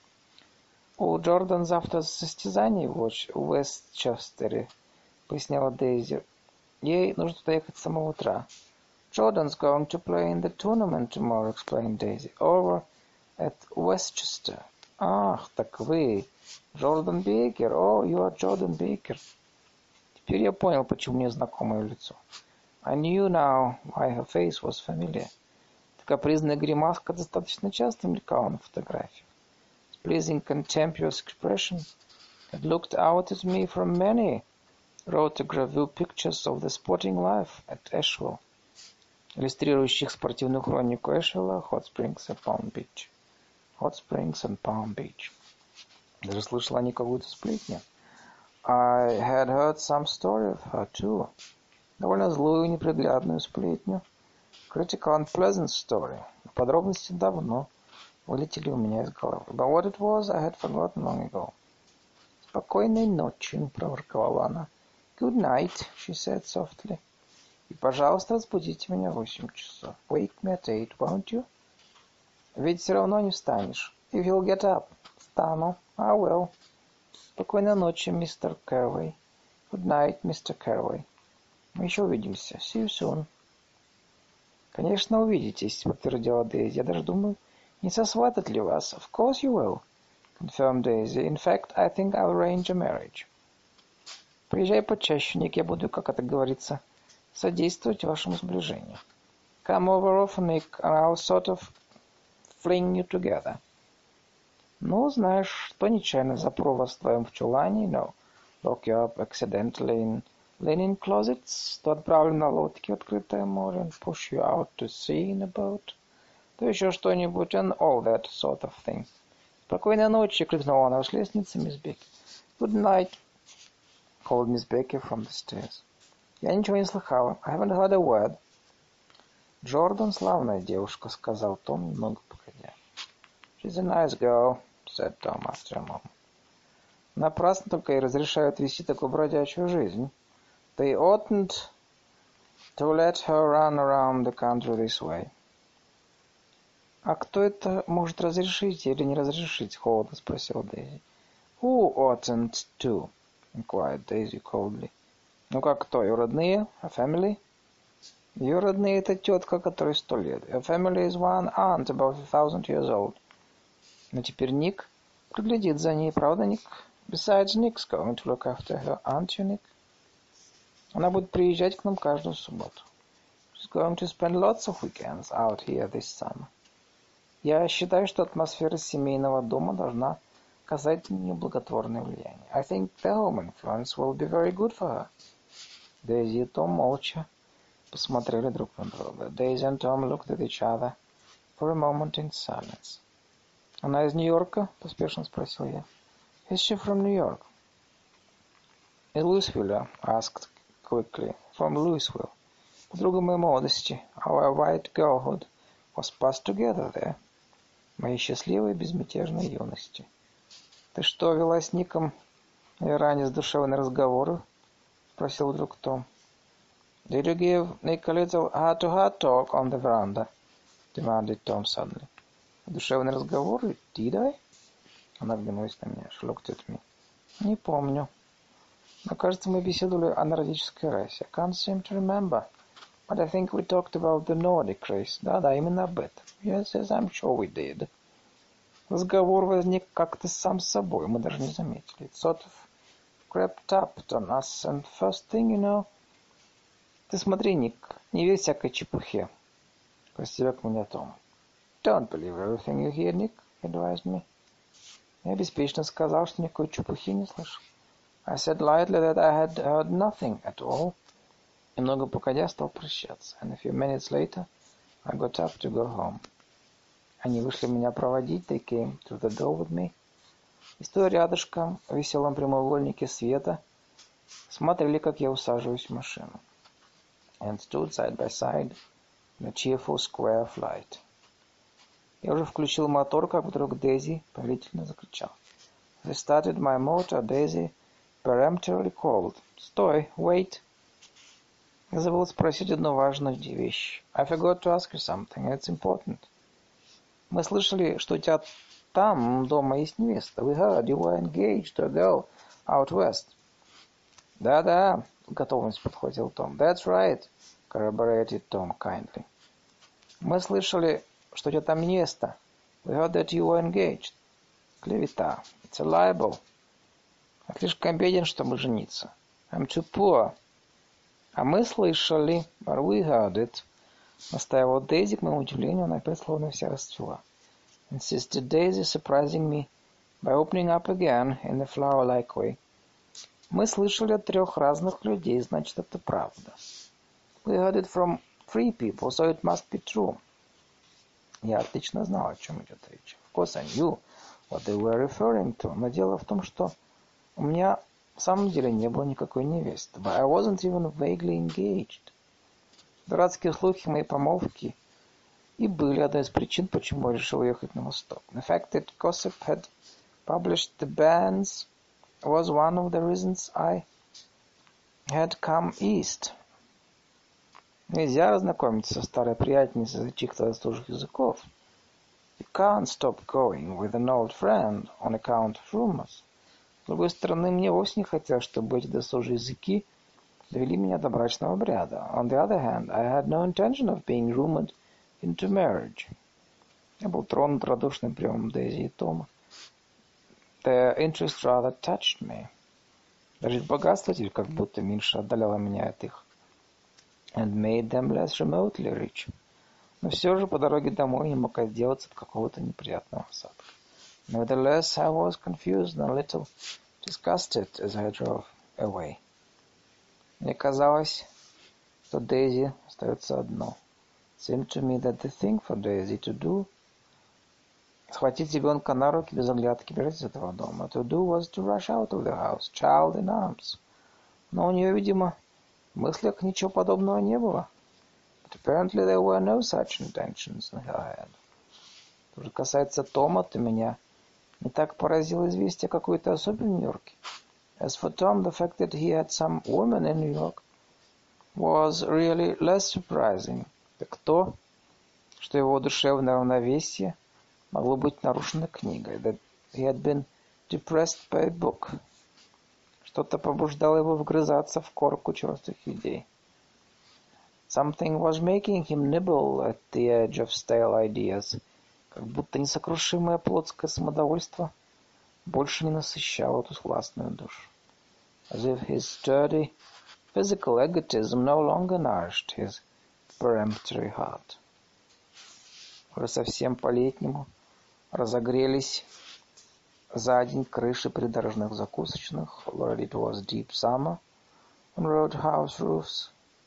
У Джордан завтра состязание в Уэстчестере, поясняла Дейзи. Ей нужно туда ехать с самого утра. Jordan's going to play in the tournament tomorrow, explained Daisy. Over at Westchester. Ах, так вы, Джордан Бейкер. Oh, you are Jordan Baker. Теперь я понял, почему мне знакомое лицо. I knew now why her face was familiar. Такая капризная гримаска достаточно часто мелькала на фотографии. Pleasing contemptuous expression had looked out at me from many rotogravure pictures of the sporting life at Asheville, иллюстрирующих спортивную хронику Эшвилла, Hot Springs and Palm Beach. Hot Springs and Palm Beach. Даже слышала они какую-то сплетню. I had heard some story of her too. Довольно злую и неприглядную сплетню. Critical and pleasant story. Подробности давно вылетели у меня из головы. But what it was, I had forgotten long ago. Спокойной ночи, проворковала она. Good night, she said softly. И, пожалуйста, разбудите меня в восемь часов. Wake me at eight, won't you? Ведь все равно не встанешь. If you'll get up. Встану. I will. Спокойной ночи, мистер Кэрвей. Good night, мистер Кэрвей. Мы еще увидимся. See you soon. Конечно, увидитесь, подтвердила Дейзи. Я даже думаю, не сосватать ли вас? Of course you will, confirmed Daisy. In fact, I think I'll arrange a marriage. Приезжай почаще, Ник, я буду, как это говорится, содействовать вашему сближению. Come over often, Nick, and I'll sort of fling you together. Ну, знаешь, что нечаянно запру вас вдвоем в чулане, no, lock you up accidentally in linen closets, то отправлю на лодке в открытое море, and push you out to sea in a boat. То еще что-нибудь, and all that sort of thing. Спокойной ночи, крикнула она с лестницы, мисс Бекки. Good night, called Miss Becky from the stairs. Я ничего не слыхала. I haven't heard a word. Джордан славная девушка, сказал Том, немного погодя. She's a nice girl, said Tom after a moment. Напрасно только ей разрешают вести такую бродячую жизнь. They oughtn't to let her run around the country this way. А кто это может разрешить или не разрешить? Холодно спросил Дейзи. Who oughtn't to? Inquired Daisy coldly. Ну как кто? Ее родные? A family? Ее родные — это тетка, которой сто лет. A family is one aunt about a thousand years old. Но теперь Ник Приглядит за ней, правда, Ник? Besides, Nick's going to look after her, aren't you, Nick? Она будет приезжать к нам каждую субботу. She's going to spend lots of weekends out here this summer. Я считаю, что атмосфера семейного дома должна оказать на нее благотворное влияние. I think the home influence will be very good for her. Дейзи и Том молча посмотрели друг на друга. Daisy and Tom looked at each other for a moment in silence. Она из Нью-Йорка? Поспешно спросил я. Is she from New York? Из Луисвилля, asked quickly. From Louisville. Подруга моей молодости. Our white girlhood was passed together there. Моей счастливой безмятежной юности. Ты что, вела с Ником ранее задушевные разговоры? Спросил вдруг Том. Did you give Nick a little heart-to-heart talk on the veranda? Demanded Tom suddenly. Душевные разговоры? Did I? Она оглянулась на меня. She looked at me. Не помню. Но, кажется, мы беседовали о нордической расе. I can't seem to remember. But I think we talked about the Nordic race. Да-да, именно об этом. Yes, yes, I'm sure we did. Разговор возник как-то сам собой. Мы даже не заметили. It sort of crept up on us, and first thing you know... Ты смотри, Ник, не верь всякой чепухе. Постерег меня Том. Don't believe everything you hear, Nick, advised me. Я беспечно сказал, что никакой чепухи не слышал. I said lightly that I had heard nothing at all. Немного погодя стал прощаться. And a few minutes later, I got up to go home. Они вышли меня проводить. They came to the door with me. И стоя рядышком, в веселом прямоугольнике света, смотрели, как я усаживаюсь в машину. And stood side by side in a cheerful square of light. Я уже включил мотор, как вдруг Дейзи повелительно закричал. As I started my motor, Daisy peremptorily called. Стой, wait. Я забыл спросить одну важную вещь. I forgot to ask you something, it's important. Мы слышали, что у тебя там дома есть невеста. We heard you were engaged to a girl out west. Да-да, готовность подхватил Том. That's right, corroborated Tom kindly. Мы слышали, что у тебя там невеста. We heard that you were engaged. Клевета. It's a libel. Я слишком беден, чтобы жениться. I'm too poor. А мы слышали, but we heard it. Настаивал Дейзи, к моему удивлению, она опять словно вся расцвела. Insisted Daisy, surprising me by opening up again in a flower-like way. Мы слышали от трех разных людей, значит, это правда. We heard it from three people, so it must be true. Я отлично знал, о чем идет речь. Of course, I knew what they were referring to. Но дело в том, что у меня в самом деле не было никакой невесты. But I wasn't even vaguely engaged. Дурацкие слухи моей помолвки и были одной из причин, почему я решил ехать на восток. The fact that gossip had published the bans was one of the reasons I had come east. Нельзя разнакомиться со старой приятельницей из-за чьих-то заслуженных языков. You can't stop going with an old friend on account of rumors. С другой стороны, мне вовсе не хотелось, чтобы эти досужие языки довели меня до брачного обряда. On the other hand, I had no intention of being rumored into marriage. Я был тронут радушным приемом Дейзи и Тома. Their interest rather touched me. Даже их богатство теперь как будто меньше отдаляло меня от их. And made them less remotely rich. Но все же по дороге домой не мог отделаться от какого-то неприятного осадка. Nevertheless, I was confused and a little disgusted as I drove away. Мне казалось, что Дейзи остается одно. It seemed to me that the thing for Daisy to do, схватить ребенка на руки без оглядки, бежать из этого дома. To do was to rush out of the house, child in arms. Но у нее, видимо, в мыслях ничего подобного не было. But apparently there were no such intentions in her head. Что же касается Тома, то меня не так поразило известие о какой-то особе в Нью-Йорке. As for Tom, the fact that he had some woman in New York was really less surprising. Так то, что его душевное равновесие могло быть нарушено книгой. That he had been depressed by a book. Что-то побуждало его вгрызаться в корку черствых идей. Something was making him nibble at the edge of stale ideas. Как будто несокрушимое плотское самодовольство больше не насыщал эту властную душу. As if his sturdy physical egotism no longer nourished his peremptory heart. Уже совсем по-летнему разогрелись за день крыши придорожных закусочных. Already it was deep summer on roadhouse roofs,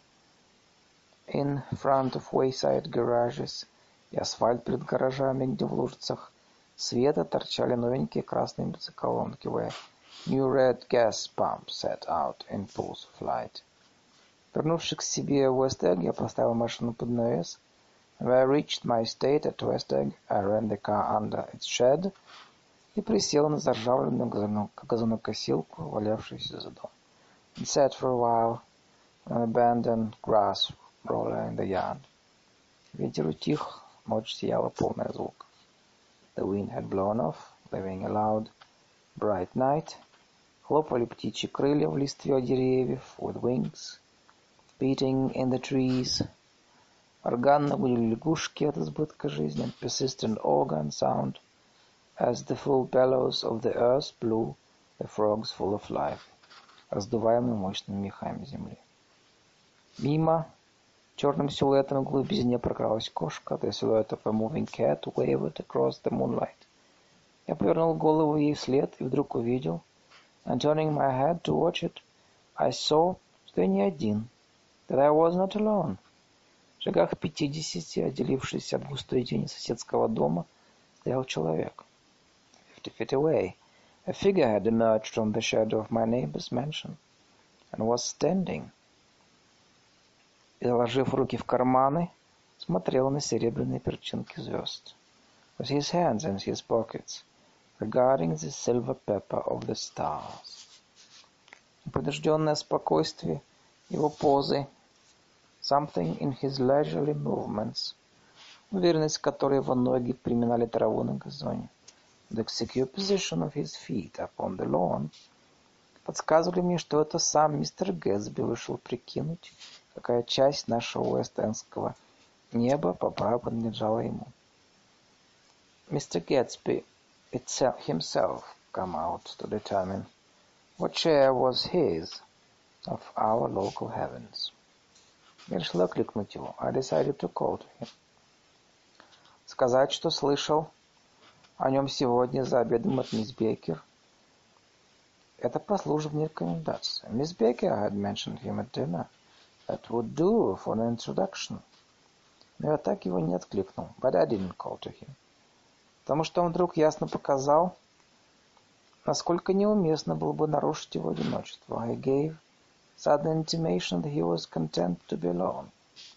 in front of wayside garages, и асфальт перед гаражами, где в лужицах света торчали новенькие красные бензоколонки, where new red gas pumps set out in pulse of light. Вернувшись к себе в West-Egg, я поставил машину под навес. When I reached my estate at West-Egg, I ran the car under its shed и присел на заржавленную газонокосилку, валявшуюся за дом. And sat for a while on an abandoned grass roller in the yard. Ветер утих, ночь сияла полная звуков. The wind had blown off, leaving a loud, bright night. Хлопали птичьи крылья в листве деревьев, with wings beating in the trees. Органно гудели лягушки от избытка жизни, and persistent organ sound as the full bellows of the earth blew the frogs full of life, раздуваемые мощными мехами земли. Мимо черным силуэтом в глубине прокралась кошка. The silhouette of a moving cat wavered across the moonlight. Я повернул голову ей вслед и вдруг увидел, and turning my head to watch it, I saw, что я не один, that I was not alone. В шагах в пятидесяти, отделившись от густой тени соседского дома, стоял человек. Fifty feet away, a figure had emerged from the shadow of my neighbor's mansion, and was standing. И, заложив руки в карманы, смотрел на серебряные перчинки звезд. With his hands in his pockets, regarding the silver pepper of the stars. Непринужденное спокойствие его позы, something in his leisurely movements, уверенность, которой его ноги приминали траву на газоне, the secure position of his feet upon the lawn, подсказывали мне, что это сам мистер Гэтсби вышел прикинуть, какая часть нашего уэст-эндского неба по праву принадлежала ему. Мистер Гэтсби itself, himself come out to determine what share was his of our local heavens. Я решил окликнуть его. I decided to call to him. Сказать, что слышал о нем сегодня за обедом от мисс Бейкер. Это послужит мне рекомендацией. Мисс Бейкер had mentioned him at dinner. That would do for an introduction. Но я так его не откликнул. But I didn't call to him. Потому что он вдруг ясно показал, насколько неуместно было бы нарушить его одиночество. He gave sudden intimation that he was content to be alone.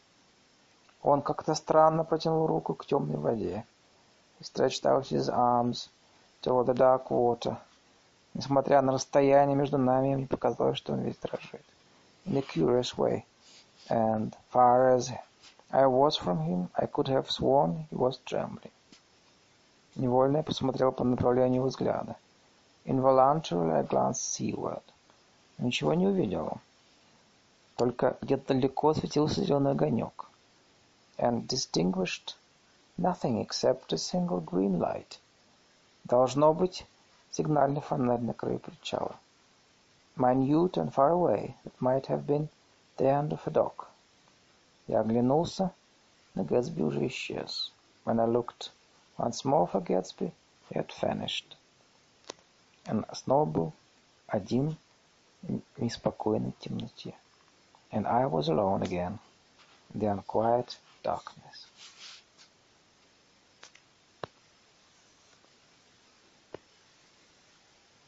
Он как-то странно протянул руку к темной воде. He stretched out his arms toward the dark water. Несмотря на расстояние между нами, мне показалось, что он весь дрожит. In a curious way. And far as I was from him, I could have sworn he was trembling. Невольно я посмотрел по направлению взгляда. Involuntarily I glanced seaward. Ничего не увидел. Только где-то далеко светился зеленый огонек. And distinguished nothing except a single green light. Должно быть сигнальный фонарь на краю причала. Minute and far away, it might have been the end of a dock. Я оглянулся, но Гэтсби уже исчез. When I looked once more for Gatsby, he had vanished. And снова был один в неспокойной темноте. And I was alone again in the unquiet darkness.